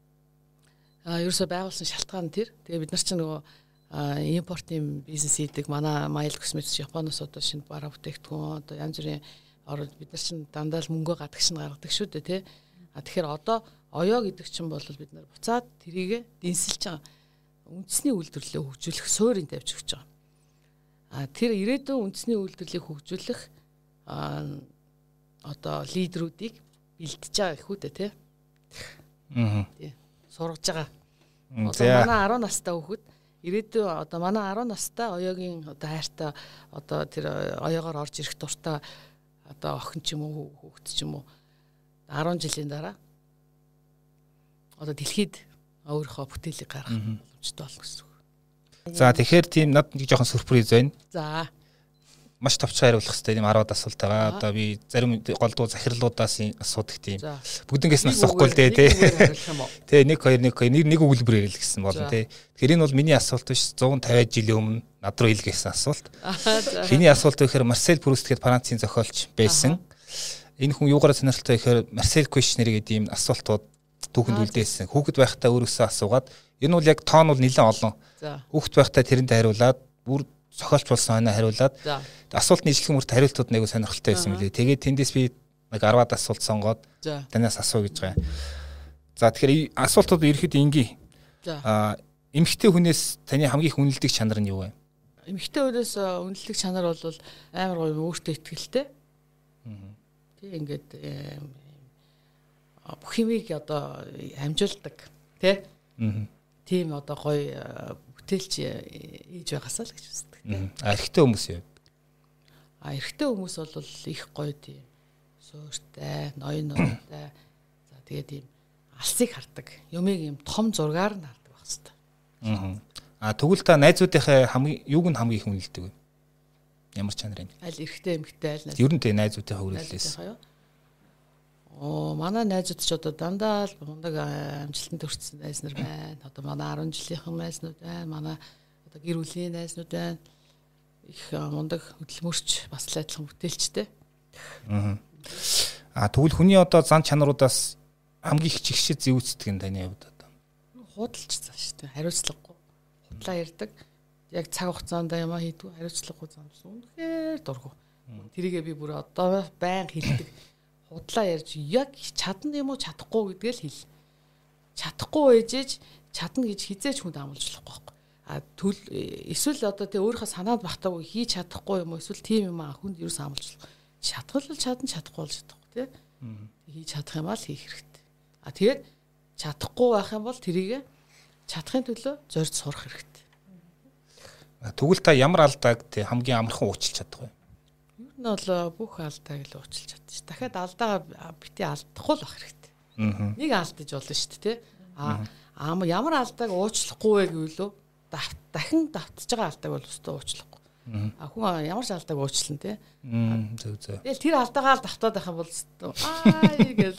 ерөөсө байгуулсан шалтгаан тэр тэгээ бид нар ч нөгөө импортын бизнес хийдэг манай Mild Cosmetics Японоос одоо шинэ бараа бүтээгдэхүүн одоо янз бүрийн ороод бид нар ч дандаа л мөнгө гадагш нь гаргадаг шүү дээ тий а тэгэхээр одоо оёо гэдэг чинь бол бид нар буцаад тэрийг дэнсэлж байгаа үндэсний үйлдвэрлэлээ хөгжүүлэх суурийг тавьж өгч байгаа. А тэр ирээдүйн үндэсний үйлдвэрлэлийг хөгжүүлэх а одоо лидерүүдийг бэлтэж байгаа их үү тий. Аа. Тий. Сургаж байгаа. Одоо манай арван настай хүүхэд ирээдүйн одоо манай арван настай оёогийн одоо хайртай одоо тэр оёогоор орж ирэх дуртай одоо охин ч юм уу хүүхэд ч юм уу арван жилийн дараа одоо дэлхийд өөрийнхөө бүтээлийг гаргах боломжтой болно гэсэн үг. За тэгэхээр тийм над нэг жоохон сюрприз байна. За. Маш товчхон хариулах хэрэгтэй тийм арваад асуулт байгаа. Одоо би зарим голдуу захирлуудаас асуудаг тийм. Бүгднгээс нь асуухгүй л дээ тий. Тэ нэг хоёр нэг хоёр нэг өгүүлбэр ярил гэсэн болно тий. Тэгэхээр энэ бол миний асуулт биш one fifty жилийн өмнө над руу илгээсэн асуулт. Миний асуулт гэхээр Марсель Пруст гэдэг Францын зохиолч байсан. Энэ хүн юугаараа сонирхолтой гэхээр Марсель Кушнер гэдэг ийм асуултууд түүхэнд үлдээсэн. Хүүхэд байхдаа өөрөөсөө асуугаад энэ бол яг тоон бол нэлээд олон. Хүүхэд байхдаа тэрэнд хариулаад бүр зохиолч болсон хойно хариулаад асуултны ижлэх мөрт хариултууд нэг сонирхолтой байсан мөлий. Тэгээд тэндээс би нэг арваад асуулт сонгоод танаас асуу гэж байгаа. За тэгэхээр асуултууд ерөөхдөө ингийн. Аа эмэгтэй хүнээс таны хамгийн их үнэлдэг чанар нь юу вэ? Эмэгтэй хүнээс үнэлдэг чанар бол амар гоё өөртөө ихтэй. Тэг ингээд бүх юмыг одоо амжуулдаг тий. Тийм одоо гоё бүтээлч хийж байгаасаа л гэж үздэг тий. А эрэгтэй хүмүүс юу? А эрэгтэй хүмүүс бол их гоё тийм сууртай, ноён ноёнтай. За тэгээд ийм алсыг хардаг. Юмыг ийм том зургаар нь хардаг байх хэвээр. Аа. А тэгвэл та найзуудынхаа хамгийн юуг нь хамгийн их үнэлдэг вэ? Ямар чанарын? Аль эрэгтэй эмэгтэй аль найз. Ер нь тэ найзуудынхаа хүрээлээс. Оо манай найзууд ч одоо дандаа л мундаг амжилтанд хүрсэн найз нар байна. Одоо манай арван жилийнхэн найзнууд байна. Манай одоо гэр бүлийн найзнууд байна. Их мундаг хөдөлмөрч бас л адилхан бүтээлчтэй. Аа. А тэгвэл хүний одоо зан чанаруудаас хамгийн их чигшээ зэвүүцдэг нь таны хувьд одоо. Худалч цаа шүү дээ. Хариуцлагагүй. Худлаа ярддаг. Яг цаг хугацаанд ямаа хийдгүү хариуцлагагүй замсан. Үнэхээр дургу. Тэрийгээ би бүр одоо байн хэлдэг. Худлаа ярьж яг чадна юм уу чадахгүй гэдгээ л хэл. Чадахгүй ээжээж чадна гэж хизээч хүнд амлаж болохгүй байхгүй. А төл эсвэл одоо тэ өөрийнхөө санаанд багтаагүй хийж чадахгүй юм уу эсвэл тийм юм аа хүнд юу амлаж болох. Чадвал чадна чадахгүй бол чадахгүй тий. Хийж чадах юм аа л хийх хэрэгтэй. А тэгээд чадахгүй байх юм бол тэрийг чадахын төлөө зорж сурах хэрэгтэй. Тэгвэл та ямар алдааг тий хамгийн амархан уучлах чадах вэ? Ер нь бол бүх алдааг л уучлах чадчих. Дахиад алдаагаа бити алдахгүй л байх хэрэгтэй. Нэг алдаж болно шүү дээ тий. А аа ямар алдааг уучлахгүй вэ гэвэл дахин давтж байгаа алдааг бол өстөө уучлахгүй. А хүн ямар ч алдааг уучлана тий. Зөв зөв. Тэгэл тэр алдаагаа л давтаад байх юм бол аа гэж.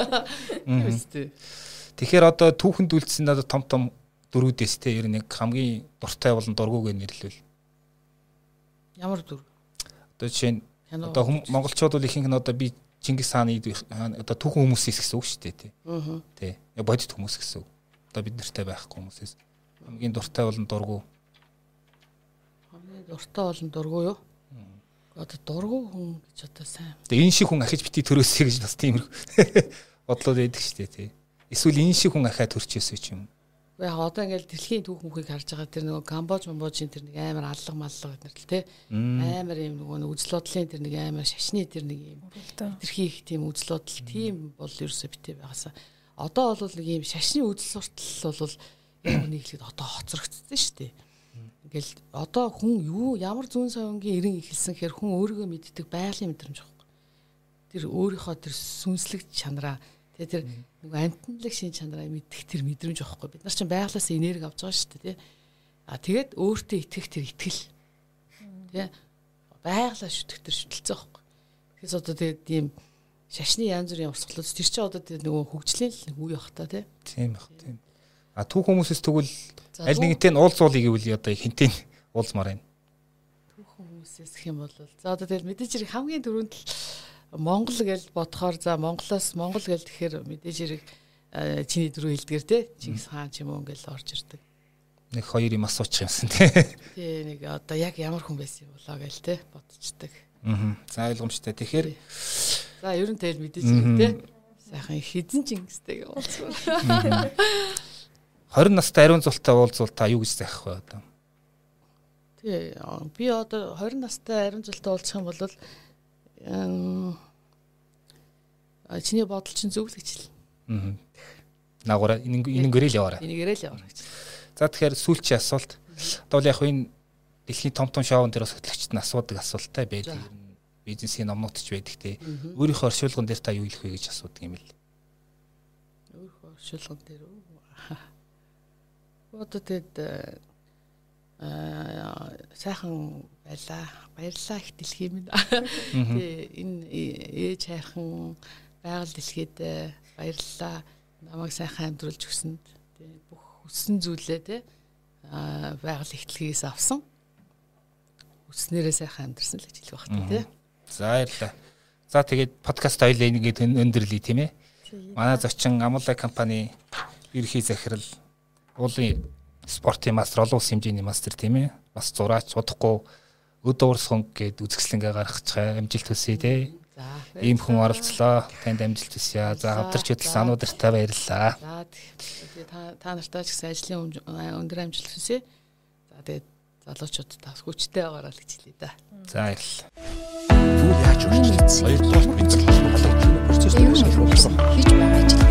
Тэгэхээр одоо түүхэнд үлдсэн одоо том том дөрүүдээс тий ер нь яг хамгийн дуртай болон дургүйг нэрлэвэл ямар дүр? Одоо жишээ нь одоо монголчууд бол ихэнх нь одоо би Чингис хааны одоо түүхэн хүмүүсээс гэсэн үг шүү дээ тий. Аа. Тий. Яг бодит хүмүүс гэсэн үг. Одоо бид нартай байхгүй хүмүүсээс хамгийн дуртай болон дургүй. Хамгийн дуртай болон дургүй юу? Одоо дургүй хүн гэж одоо сайн. Тэгээ энэ шиг хүн ахиж бити төрөөсэй гэж бас тийм бодлоод байдаг шүү дээ тий. Эсвэл энэ шиг хүн ахаа төрчихөөсэй ч юм. Яг одоо ингээл дэлхийн түүх мөхийг харж байгаа тэр нөгөө Камбож, Монбожийн тэр нэг амар аллах маллах гэдэг л тий. Амар юм нөгөө үзэл бодлын тэр нэг амар шашны тэр нэг юм. Тэрхий их тийм үзэл бодол тийм бол ерөөсөө битээ байгаасаа. Одоо бол нэг юм шашны үзэл суртал бол яг нийлээд одоо хоцрогдсон шүү дээ. Ингээл одоо хүн юу ямар зүүн совингийн эрен ихэлсэн гэхээр хүн өөрийгөө мэддэг байгалийн мэдрэмж واخхой. Тэр өөрийнхөө тэр сүнслэг чанараа тэгээ тэр нэг амтналаг шин чанараа мэддэг тэр мэдрэмж واخхой. Бид нар чинь байгалаас энерги авч байгаа шүү дээ. А тэгээд өөртөө итгэх тэр итгэл. Тэ байгалаа шүтэх тэр шүтэлцээ واخхой. Тэгэхээр одоо тэгээд ийм шашны янз бүрийн урсгалууд тэр чинь одоо тэр нөгөө хөгжлийн л үе бах та тий. Тийм бах тийм. А түүх хүмүүсээс тэгвэл аль нэгнтэй нь уулзуулъя гэвэл одоо хинтээ уулзмаар байна. Түүх хүмүүсээс гэх юм бол за одоо тэгэл мэдээж хэрэг хамгийн түрүүнд л Монгол гэж бодохоор за Монголоос Монгол гэж тэгэхээр мэдээж хэрэг чиний дөрөв хэлдгэр тий. Чингис хаан ч юм уу ингээл орж ирдэг. Нэг хоёр юм асуучих юмсан тий. Тий нэг одоо яг ямар хүн байсан юм болоо гээл тий бодчихдаг. Аа. За ойлгомжтой. Тэгэхээр за ер нь тэгэл мэдээж хэрэг тий. Сайхан хизэн Чингистэйг уулзсан. двадцать настай ариун зултай уулзвал та юу гэж заах вэ одоо? Тий би одоо двадцать настай ариун зултай уулзах юм бол аа чиний бодол чинь зөв л гэж хэл. Аа. Наагаараа энэнгэрэл яваарай. Энэнгэрэл яваарай гэж. За тэгэхээр сүүлчийн асуулт. Одоо яг энэ дэлхийн том том шоунд дээр бас хөтлөгчд нь асуудаг асуулттай байдаг. Бизнесийн номнууд ч байдаг те. Өөрийнхөө оршуулган дээр та юу хэлэх вэ гэж асуудаг юм л. Өөрийнхөө оршуулган дээр одоо тэгэд аа сайхан байлаа. Баярлалаа их дэлхий минь. Тэгээ энэ ээж хайрхан байгаль дэлхийд баярлалаа. Намайг сайхан амьдруулж өгсөнд тэгээ бүх хүссэн зүйлээ те аа байгаль ихтлгээс авсан. Хүснээрээ сайхан амьдрсан л гэж хэлэх багтаа те. За баярлалаа. За тэгээд подкаст хоёлаа ингээд өндөрлөе тийм ээ. Манай зочин Амулай компани ерхий захирал уулын спортын мастер олон улсын хэмжээний мастер тийм ээ. Бас зураач удахгүй өд уурсхан гээд үзэсгэлэнгээ гаргачихаа амжилт хүсье те. За ийм хүн оролцлоо. Танд амжилт хүсье. За хамтарч хөтлсөн ануудартай баярлалаа. За тэгээд та та нартай ч гэсэн ажлын өндөр амжилт хүсье. За тэгээд залуучууд та хүчтэй байгаарай гэж хэлье да. За баярлалаа. Юу яаж вэ? Хоёрдугаар мэдээ процесс хийж байгаа ажил